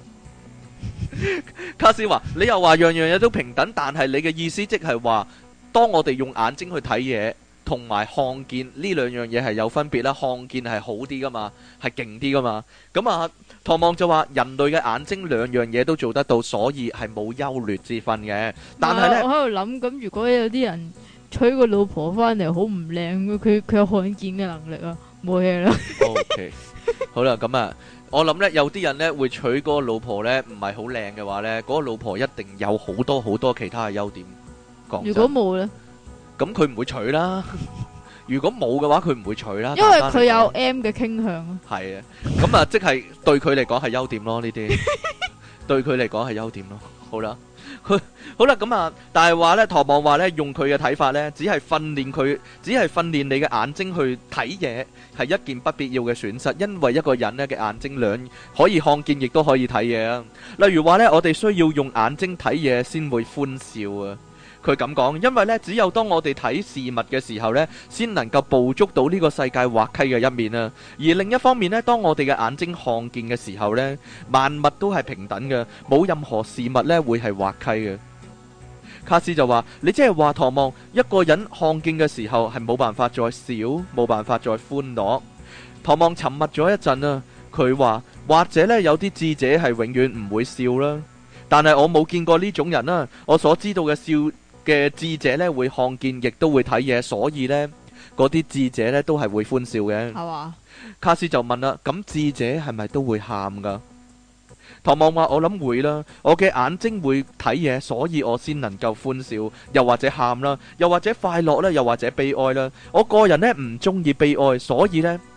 卡斯話：你又話樣樣嘢都平等，但係你嘅意思即係話，當我哋用眼睛去睇嘢，同埋看見呢兩樣嘢係有分別啦。看見係好啲噶嘛，係勁啲噶嘛。咁啊，唐望就話人類嘅眼睛兩樣嘢都做得到，所以係冇優劣之分嘅。但係呢， 我喺度諗，咁如果有啲人娶個老婆翻嚟好唔靚，佢佢有看見嘅能力啊，冇嘢啦。 OK， 好啦，咁啊，我諗呢，有啲人呢會娶嗰個老婆呢，唔係好靚嘅話呢，嗰、嗰個老婆一定有好多好多其他嘅優點。講真，如果冇呢，咁佢唔會娶啦。如果冇嘅話，佢唔會娶啦。因為佢有 M 嘅傾向啊。係啊，咁啊，即係對佢嚟講係優點咯，呢啲對佢嚟講係優點咯。好啦。好啦，咁啊，但係話呢，唐望話呢，用佢嘅睇法呢，只係訓練佢，只係訓練你嘅眼睛去睇嘢，係一件不必要嘅損失，因為一個人呢嘅眼睛兩可以看見，亦都可以睇嘢啊。例如話呢，我哋需要用眼睛睇嘢先會歡笑啊。佢咁講，因為呢，只有當我哋睇事物嘅時候呢，先能夠捕捉到呢個世界滑稽嘅一面啊。而另一方面呢，當我哋嘅眼睛看見嘅時候呢，萬物都係平等嘅，冇任何事物呢會係滑稽嘅。卡斯就話：你即係話唐望，一個人看見嘅時候係冇辦法再笑，冇辦法再歡樂。唐望沉默咗一陣啊，佢話：或者呢，有啲智者係永遠唔會笑啦，但係我冇見過呢種人啦。我所知道嘅笑嘅智者呢，會看見，亦都會睇嘢，所以呢，嗰啲智者呢都係會歡笑嘅。係嘛？卡斯就問啦：咁智者係咪都會喊噶？唐望話：我諗會啦，我嘅眼睛會睇嘢，所以我先能夠歡笑，又或者喊啦，又或者快樂啦，又或者悲哀啦。我個人呢唔中意悲哀，所以呢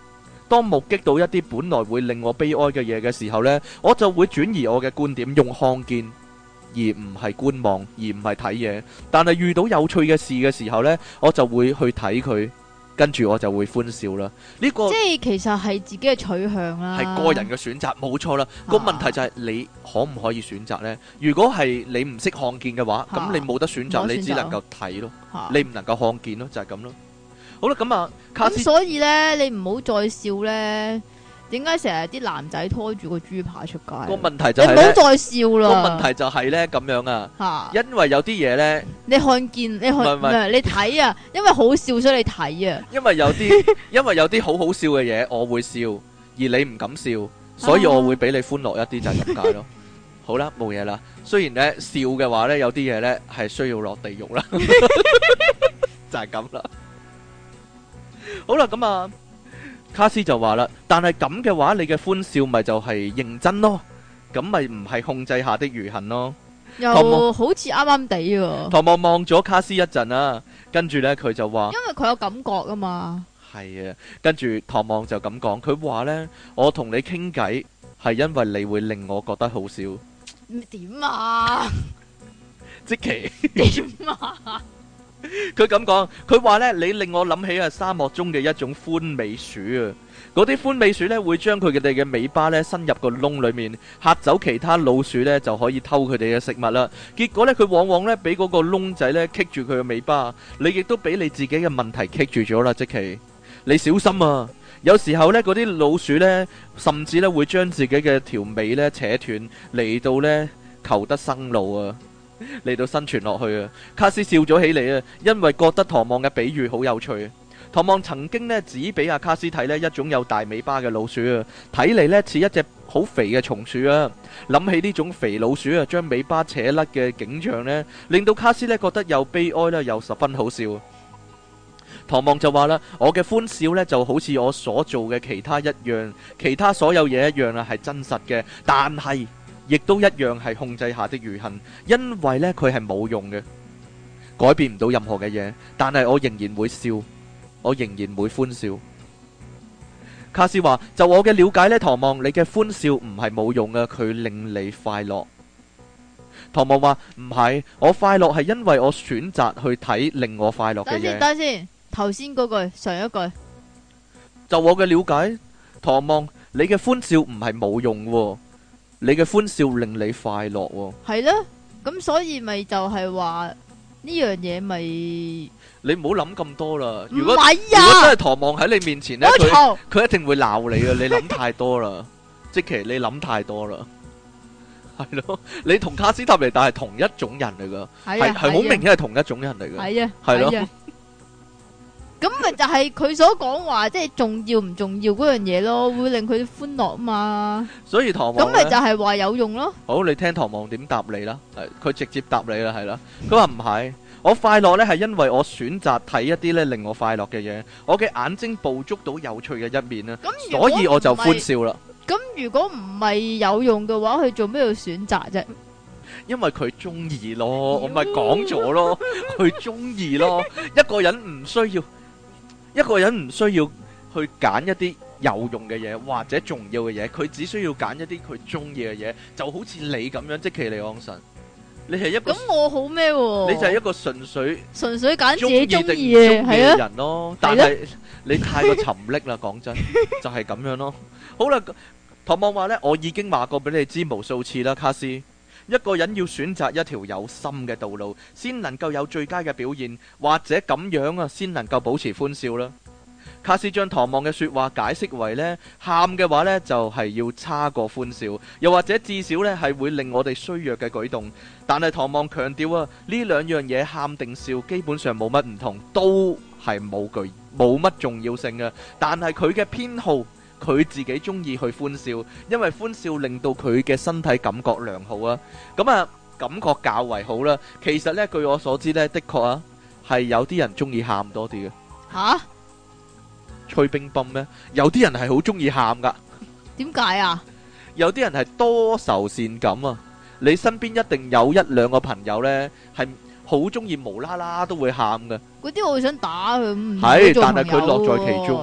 當目擊到一啲本來會令我悲哀嘅嘢嘅時候呢，我就會轉移我嘅觀點，用看見而唔係觀望，而唔係睇嘢。但係遇到有趣嘅事嘅時候呢，我就會去睇佢，跟住我就會歡笑啦。呢個即係其實係自己嘅取向啦， 係個人嘅選擇，冇錯啦。個問題就係你可唔可以選擇呢？如果係你唔識看見嘅話，咁你冇得選擇，你只能夠睇咯，你唔能夠看見咯，就係咁咯。好啦，咁啊，卡斯， 咁所以咧，你唔好再笑咧。點解成日啲男仔拖住個豬扒出街？ 個問題就係你唔好再笑啦。 個問題就係咧咁樣啊，因為有啲嘢咧， 你看見你看唔係你睇啊，因為好笑所以你睇啊。 因為有啲因為有啲好好笑嘅嘢，我會笑，而你唔敢笑，所以我會俾你歡樂一啲，就係咁解咯。好啦，冇嘢啦。雖然咧笑嘅話咧，有啲嘢咧係需要落地獄啦，就係咁啦。好啦，咁啊，卡斯就話啦，但係咁嘅話，你嘅歡笑咪就係認真咯，咁咪唔係控制下的餘恨咯。 又好似啱啱地喎。唐望望咗卡斯一陣啊，跟住呢，佢就話， 因為佢有感覺啊嘛。 係啊，跟住唐望就咁講，佢話呢，我同你傾偈係因為你會令我覺得好笑。 點啊？ 即其點啊？ 佢咁講，佢話呢，你令我諗起啊沙漠中嘅一種歡尾鼠啊，嗰啲歡尾鼠呢會將佢哋嘅尾巴呢伸入個窿裏面，嚇走其他老鼠呢就可以偷佢哋嘅食物啦。結果呢，佢往往呢俾嗰個窿仔呢棘住佢嘅尾巴，你亦都俾你自己嘅問題棘住咗啦。即其，你小心啊！有時候呢，嗰啲老鼠呢，甚至呢會將自己嘅條尾呢扯斷嚟到呢求得生路啊！嚟到生存落去啊！卡斯笑咗起嚟啊，因為覺得唐望嘅比喻好有趣。唐望曾經呢指俾阿卡斯睇呢一種有大尾巴嘅老鼠啊，睇嚟呢似一隻好肥嘅松鼠啊。諗起呢種肥老鼠啊，將尾巴扯甩嘅景象呢，令到卡斯呢覺得又悲哀啦，又十分好笑。唐望就話啦，我嘅歡笑呢就好似我所做嘅其他一樣，其他所有嘢一樣啊，係真實嘅，但係亦都一樣係控制下的餘恨，因為呢，佢係冇用嘅，改變唔到任何嘅嘢，但係我仍然會笑，我仍然會歡笑。卡斯話，就我嘅了解呢，唐望，你嘅歡笑唔係冇用嘅，佢令你快樂。唐望話，唔係，我快樂係因為我選擇去睇令我快樂嘅嘢。等先， 等先，頭先嗰句上一句， 就我嘅了解，唐望，你嘅歡笑唔係冇用喎。你嘅歡笑令你快樂喎，係咧，咁所以咪就係話呢樣嘢咪你唔好諗咁多啦。如果唔係啊， 如果真係唐望喺你面前咧，佢佢一定會鬧你啊！你諗太多啦，即其你諗太多啦，係咯。你同卡斯塔尼達係同一種人嚟噶，係係好明顯係同一種人嚟噶， 係啊， 係咯。 咁咪就係佢所講話，即係重要唔重要嗰樣嘢咯，會令佢歡樂啊嘛。 所以唐望咁咪就係話有用咯。 好，你聽唐望點答你啦？係佢直接答你啦，係啦。佢話唔係，我快樂呢係因為我選擇睇一啲呢令我快樂嘅嘢，我嘅眼睛捕捉到有趣嘅一面啦，所以我就歡笑啦。 咁如果唔係有用嘅話，佢做咩要選擇啫？ 因為佢中意咯，我咪講咗咯，佢中意咯。一個人唔需要。一個人唔需要去揀一啲有用嘅嘢或者重要嘅嘢，佢只需要揀一啲佢中意嘅嘢，就好似你咁樣，即其利昂神，你係一個咁我好咩？ 你就係一個純粹純粹揀自己中意嘅係啊人咯，但係你太過沉溺啦，講真就係咁樣咯。好啦，唐望話呢，我已經話過俾你知無數次啦，卡斯。一個人要選擇一條有心嘅道路，先能夠有最佳嘅表現，或者咁樣啊，先能夠保持歡笑啦。卡斯將唐望嘅說話解釋為呢，喊嘅話呢就係要差過歡笑，又或者至少呢係會令我哋衰弱嘅舉動。但係唐望強調啊，呢兩樣嘢喊定笑基本上冇乜唔同，都係冇具冇乜重要性嘅。但係佢嘅偏好。佢自己中意去歡笑，因為歡笑令到佢嘅身體感覺良好啊。咁啊，感覺較為好啦。其實呢，據我所知呢，的確啊，係有啲人中意喊多啲嘅。吓？吹冰泵咩？有啲人係好中意喊噶。點解啊？有啲人係多愁善感啊。你身邊一定有一兩個朋友呢，係好中意無啦啦都會喊嘅。嗰啲我會想打佢。係，但係佢樂在其中。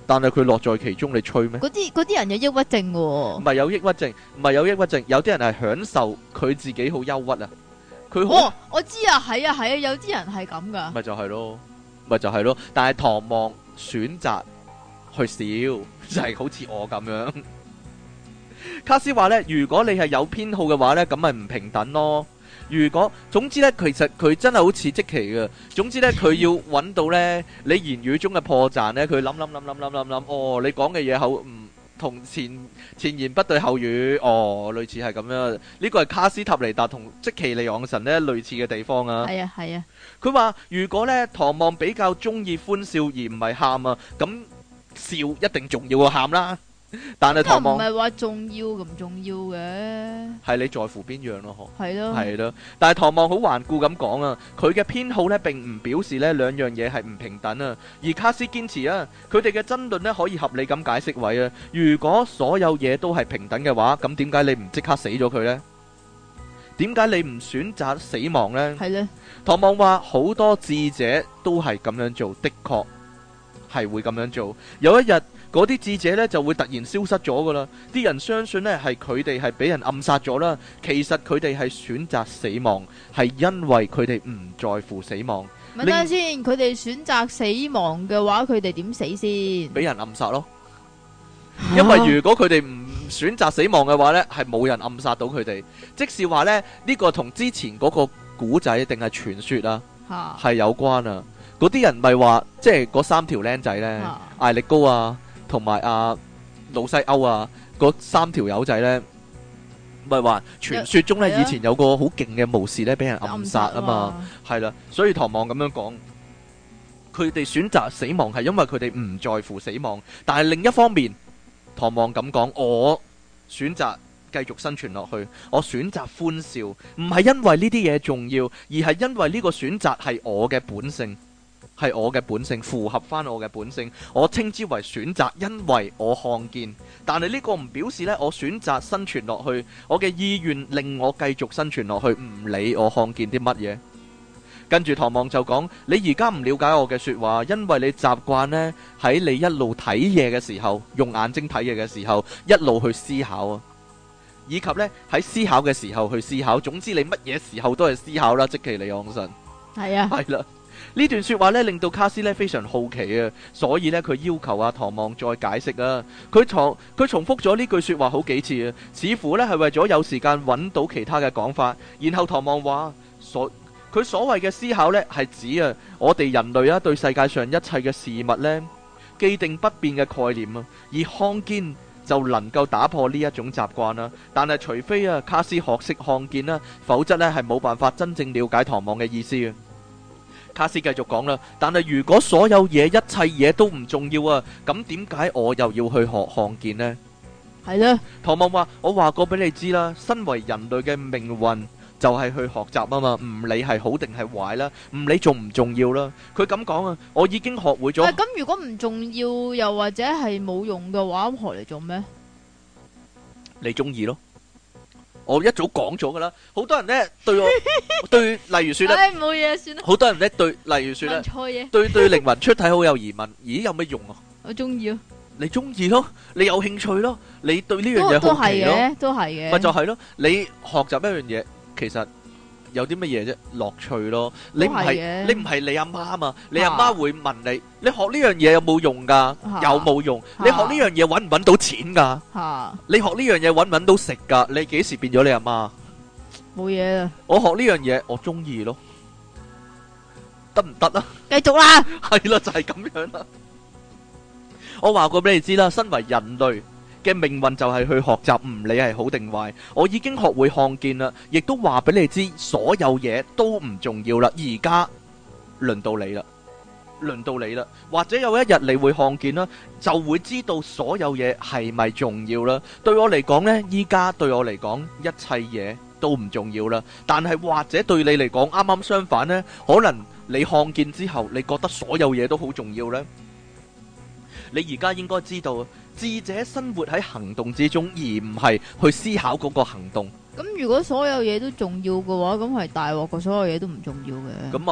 但係佢樂在其中，你吹咩？ 嗰啲嗰啲人有抑鬱症喎。 唔係有抑鬱症，唔係有抑鬱症，有啲人係享受佢自己好憂鬱啊。佢好， 哦，我知啊，係啊係啊，有啲人係咁噶。 咪就係咯，咪就係咯。但係唐望選擇去笑，就係好似我咁樣。卡斯話呢，如果你係有偏好嘅話呢，咁咪唔平等咯。如果總之呢，其實佢真係好似即期嘅。總之呢，佢要揾到呢你言語中嘅破綻呢，佢諗諗諗諗諗諗諗，哦，你講嘅嘢好唔同前前言不對後語，哦，類似係咁樣。呢個係卡斯塔尼達同即其利昂神呢類似嘅地方啊。 係啊係啊。 佢話如果呢，唐望比較中意歡笑而唔係喊啊，咁笑一定重要過喊啦。但係唐望唔係話重要咁重要嘅， 係你在乎邊樣咯？嗬， 係咯， 係咯。但係唐望好頑固咁講啊，佢嘅偏好呢並唔表示呢兩樣嘢係唔平等啊。而卡斯堅持啊，佢哋嘅爭論呢可以合理咁解釋為啊，如果所有嘢都係平等嘅話，咁點解你唔即刻死咗佢呢？點解你唔選擇死亡呢？係咧。唐望話好多智者都係咁樣做，的確係會咁樣做。有一日，嗰啲智者呢就會突然消失咗噶啦，啲人相信呢係佢哋係俾人暗殺咗啦，其實佢哋係選擇死亡，係因為佢哋唔在乎死亡。 咪等下先，佢哋選擇死亡嘅話，佢哋點死先？ 俾人暗殺咯，因為如果佢哋唔選擇死亡嘅話呢，係冇人暗殺到佢哋。即是話呢，呢個同之前嗰個古仔定係傳說啊，係有關啊。嗰啲人咪話，即係嗰三條僆仔呢，艾力高啊，同埋阿魯西歐啊，嗰三條友仔呢，咪話傳說中呢，以前有個好勁嘅巫士呢，俾人暗殺啊嘛，係啦，所以唐望咁樣講，佢哋選擇死亡係因為佢哋唔在乎死亡，但係另一方面，唐望咁講，我選擇繼續生存落去，我選擇歡笑，唔係因為呢啲嘢重要，而係因為呢個選擇係我嘅本性。係我嘅本性，符合翻我嘅本性，我稱之為選擇，因為我看見。但係呢個唔表示呢，我選擇生存落去，我嘅意願令我繼續生存落去，唔理我看見啲乜嘢。跟住唐望就講：你而家唔了解我嘅說話，因為你習慣呢喺你一路睇嘢嘅時候，用眼睛睇嘢嘅時候，一路去思考啊，以及呢喺思考嘅時候去思考。總之你乜嘢時候都係思考啦，即其利昂神。係啊，係啦。呢段說話咧令到卡斯咧非常好奇啊，所以咧佢要求阿唐望再解釋啊。佢重佢重複咗呢句說話好幾次啊，似乎咧係為咗有時間揾到其他嘅講法。然後唐望話所佢所謂嘅思考咧係指啊我哋人類啊對世界上一切嘅事物咧既定不變嘅概念啊，而看見就能夠打破呢一種習慣啦。但係除非啊卡斯學識看見啦，否則咧係冇辦法真正了解唐望嘅意思啊。卡斯繼續講啦，但係如果所有嘢一切嘢都唔重要啊，咁點解我又要去學看見呢？係咧，唐望話：我話過俾你知啦，身為人類嘅命運就係去學習啊嘛，唔理係好定係壞啦，唔理重唔重要啦。佢咁講啊，我已經學會咗。咁如果唔重要又或者係冇用嘅話，咁學嚟做咩？你中意咯。我一早講咗噶啦，好多人咧對我對，例如說咧，冇嘢算啦。好多人咧對，例如說咧，錯嘢，對對靈魂出體好有疑問，咦有咩用啊？我中意咯，你中意咯，你有興趣咯，你對呢樣嘢好奇咯，都係嘅，咪就係咯。你學習一樣嘢，其實有啲乜嘢啫？樂趣咯。你唔係你唔係你阿媽啊嘛？你阿媽會問你，你學呢樣嘢有冇用噶？有冇用？你學呢樣嘢搵唔搵到錢噶？你學呢樣嘢搵唔搵到食噶？你幾時變咗你阿媽？冇嘢啦。我學呢樣嘢，我中意咯，得唔得啊？繼續啦。係啦，就係咁樣啦。我話過俾你知啦，身為人類嘅命運就係去學習，唔理係好定壞。我已經學會看見啦，亦都話俾你知，所有嘢都唔重要啦。而家輪到你啦，輪到你啦。或者有一日你會看見啦，就會知道所有嘢係咪重要啦。對我嚟講呢，依家對我嚟講，一切嘢都唔重要啦。但係或者對你嚟講，啱啱相反呢，可能你看見之後，你覺得所有嘢都好重要呢。你而家應該知道，智者生活喺行動之中，而唔係去思考嗰個行動。咁如果所有嘢都重要嘅話，咁係大鑊過所有嘢都唔重要嘅。咁啊，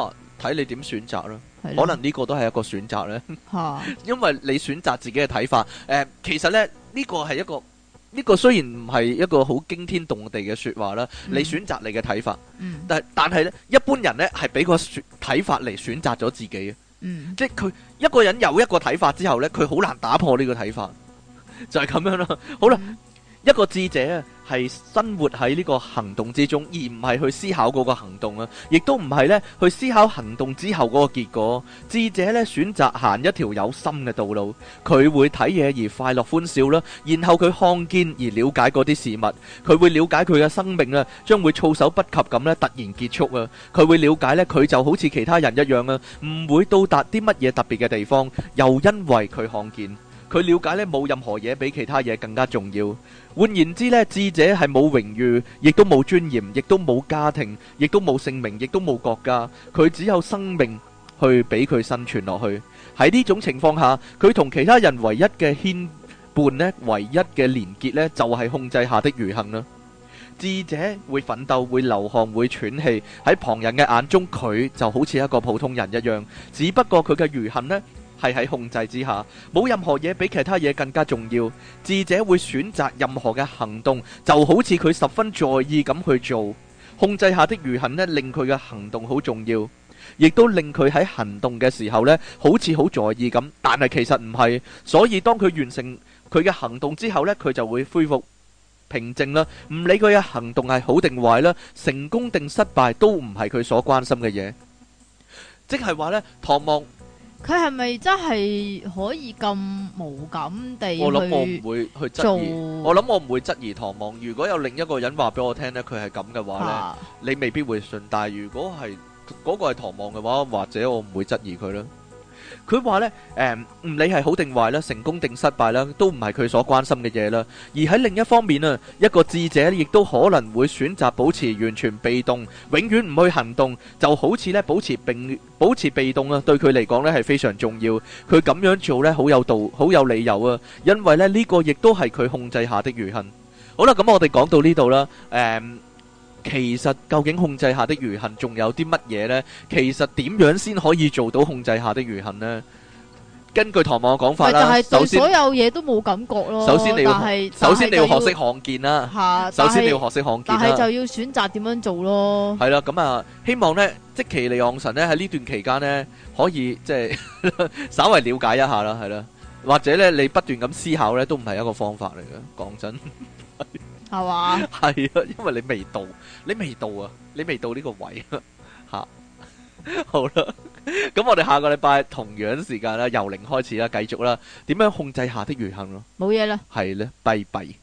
睇你點選擇啦。 係可能呢個都係一個選擇咧， 嚇， 因為你選擇自己嘅睇法。誒、呃，其實咧呢個係一個呢、呢個雖然唔係一個好驚天動地嘅説話啦， 嗯、 你選擇你嘅睇法， 嗯、 但但係咧一般人咧係俾個選睇法嚟選擇咗自己嘅， 嗯、 即係佢一個人有一個睇法之後咧，佢好難打破呢個睇法，就係、是、咁樣啦。好啦。嗯一個智者啊，係生活喺呢個行動之中，而唔係去思考嗰個行動啊，亦都唔係呢去思考行動之後嗰個結果。智者呢選擇行一條有心嘅道路，佢會睇嘢而快樂歡笑啦，然後佢看見而了解嗰啲事物，佢會了解佢嘅生命啊，將會措手不及咁呢突然結束啊，佢會了解呢佢就好似其他人一樣啊，唔會到達啲乜嘢特別嘅地方，又因為佢看見。佢了解咧冇任何嘢比其他嘢更加重要。換言之咧，智者係冇榮譽，亦都冇尊嚴，亦都冇家庭，亦都冇姓名，亦都冇國家。佢只有生命去俾佢生存落去。喺呢種情況下，佢同其他人唯一嘅牽絆咧，唯一嘅連結咧，就係控制下的愚行啦。智者會奮鬥，會流汗，會喘氣。喺旁人嘅眼中，佢就好似一個普通人一樣。只不過佢嘅愚行呢，係喺控制之下，冇任何嘢比其他嘢更加重要。智者會選擇任何嘅行動，就好似佢十分在意咁去做。控制下的愚行呢，令佢嘅行動好重要，亦都令佢喺行動嘅時候呢，好似好在意咁。但係其實唔係，所以當佢完成佢嘅行動之後呢，佢就會恢復平靜啦。唔理佢嘅行動係好定壞啦，成功定失敗都唔係佢所關心嘅嘢。即係話呢，唐望。 佢係咪真係可以咁無感地去？ 我諗我唔會去質疑，我諗我唔會質疑唐望。如果有另一個人話俾我聽呢，佢係咁嘅話呢，啊、你未必會信。但係如果係嗰、嗰個係唐望嘅話，或者我唔會質疑佢啦。佢話呢，誒、嗯，唔理係好定壞啦，成功定失敗啦，都唔係佢所關心嘅嘢啦。而喺另一方面啊，一個智者亦都可能會選擇保持完全被動，永遠唔去行動，就好似呢保持並保持被動啊，對佢嚟講呢係非常重要。佢咁樣做呢，好有道，好有理由啊，因為呢呢、呢個亦都係佢控制下的愚行。好啦，咁我哋講到呢度啦，誒、嗯。其實究竟控制下的愚行仲有啲乜嘢呢？其實點樣先可以做到控制下的愚行呢？根據唐望嘅講法啦， 就係對所有嘢都冇感覺咯。 首先你要學，首先你要學識看見啦。 吓， 首先你要學識看見啦。 但係就要選擇點樣做咯。 係啦，咁啊，希望呢，即其利昂神呢喺呢段期間呢，可以即係稍為了解一下啦，係啦，或者呢，你不斷咁思考呢，都唔係一個方法嚟嘅。講真。 係嘛？ 係啊，因為你未到，你未到啊，你未到呢個位啊，吓，好啦，咁我哋下個禮拜同樣時間啦，由零開始啦，繼續啦，點樣控制下的愚行咯？ 冇嘢啦， 係咧，拜拜。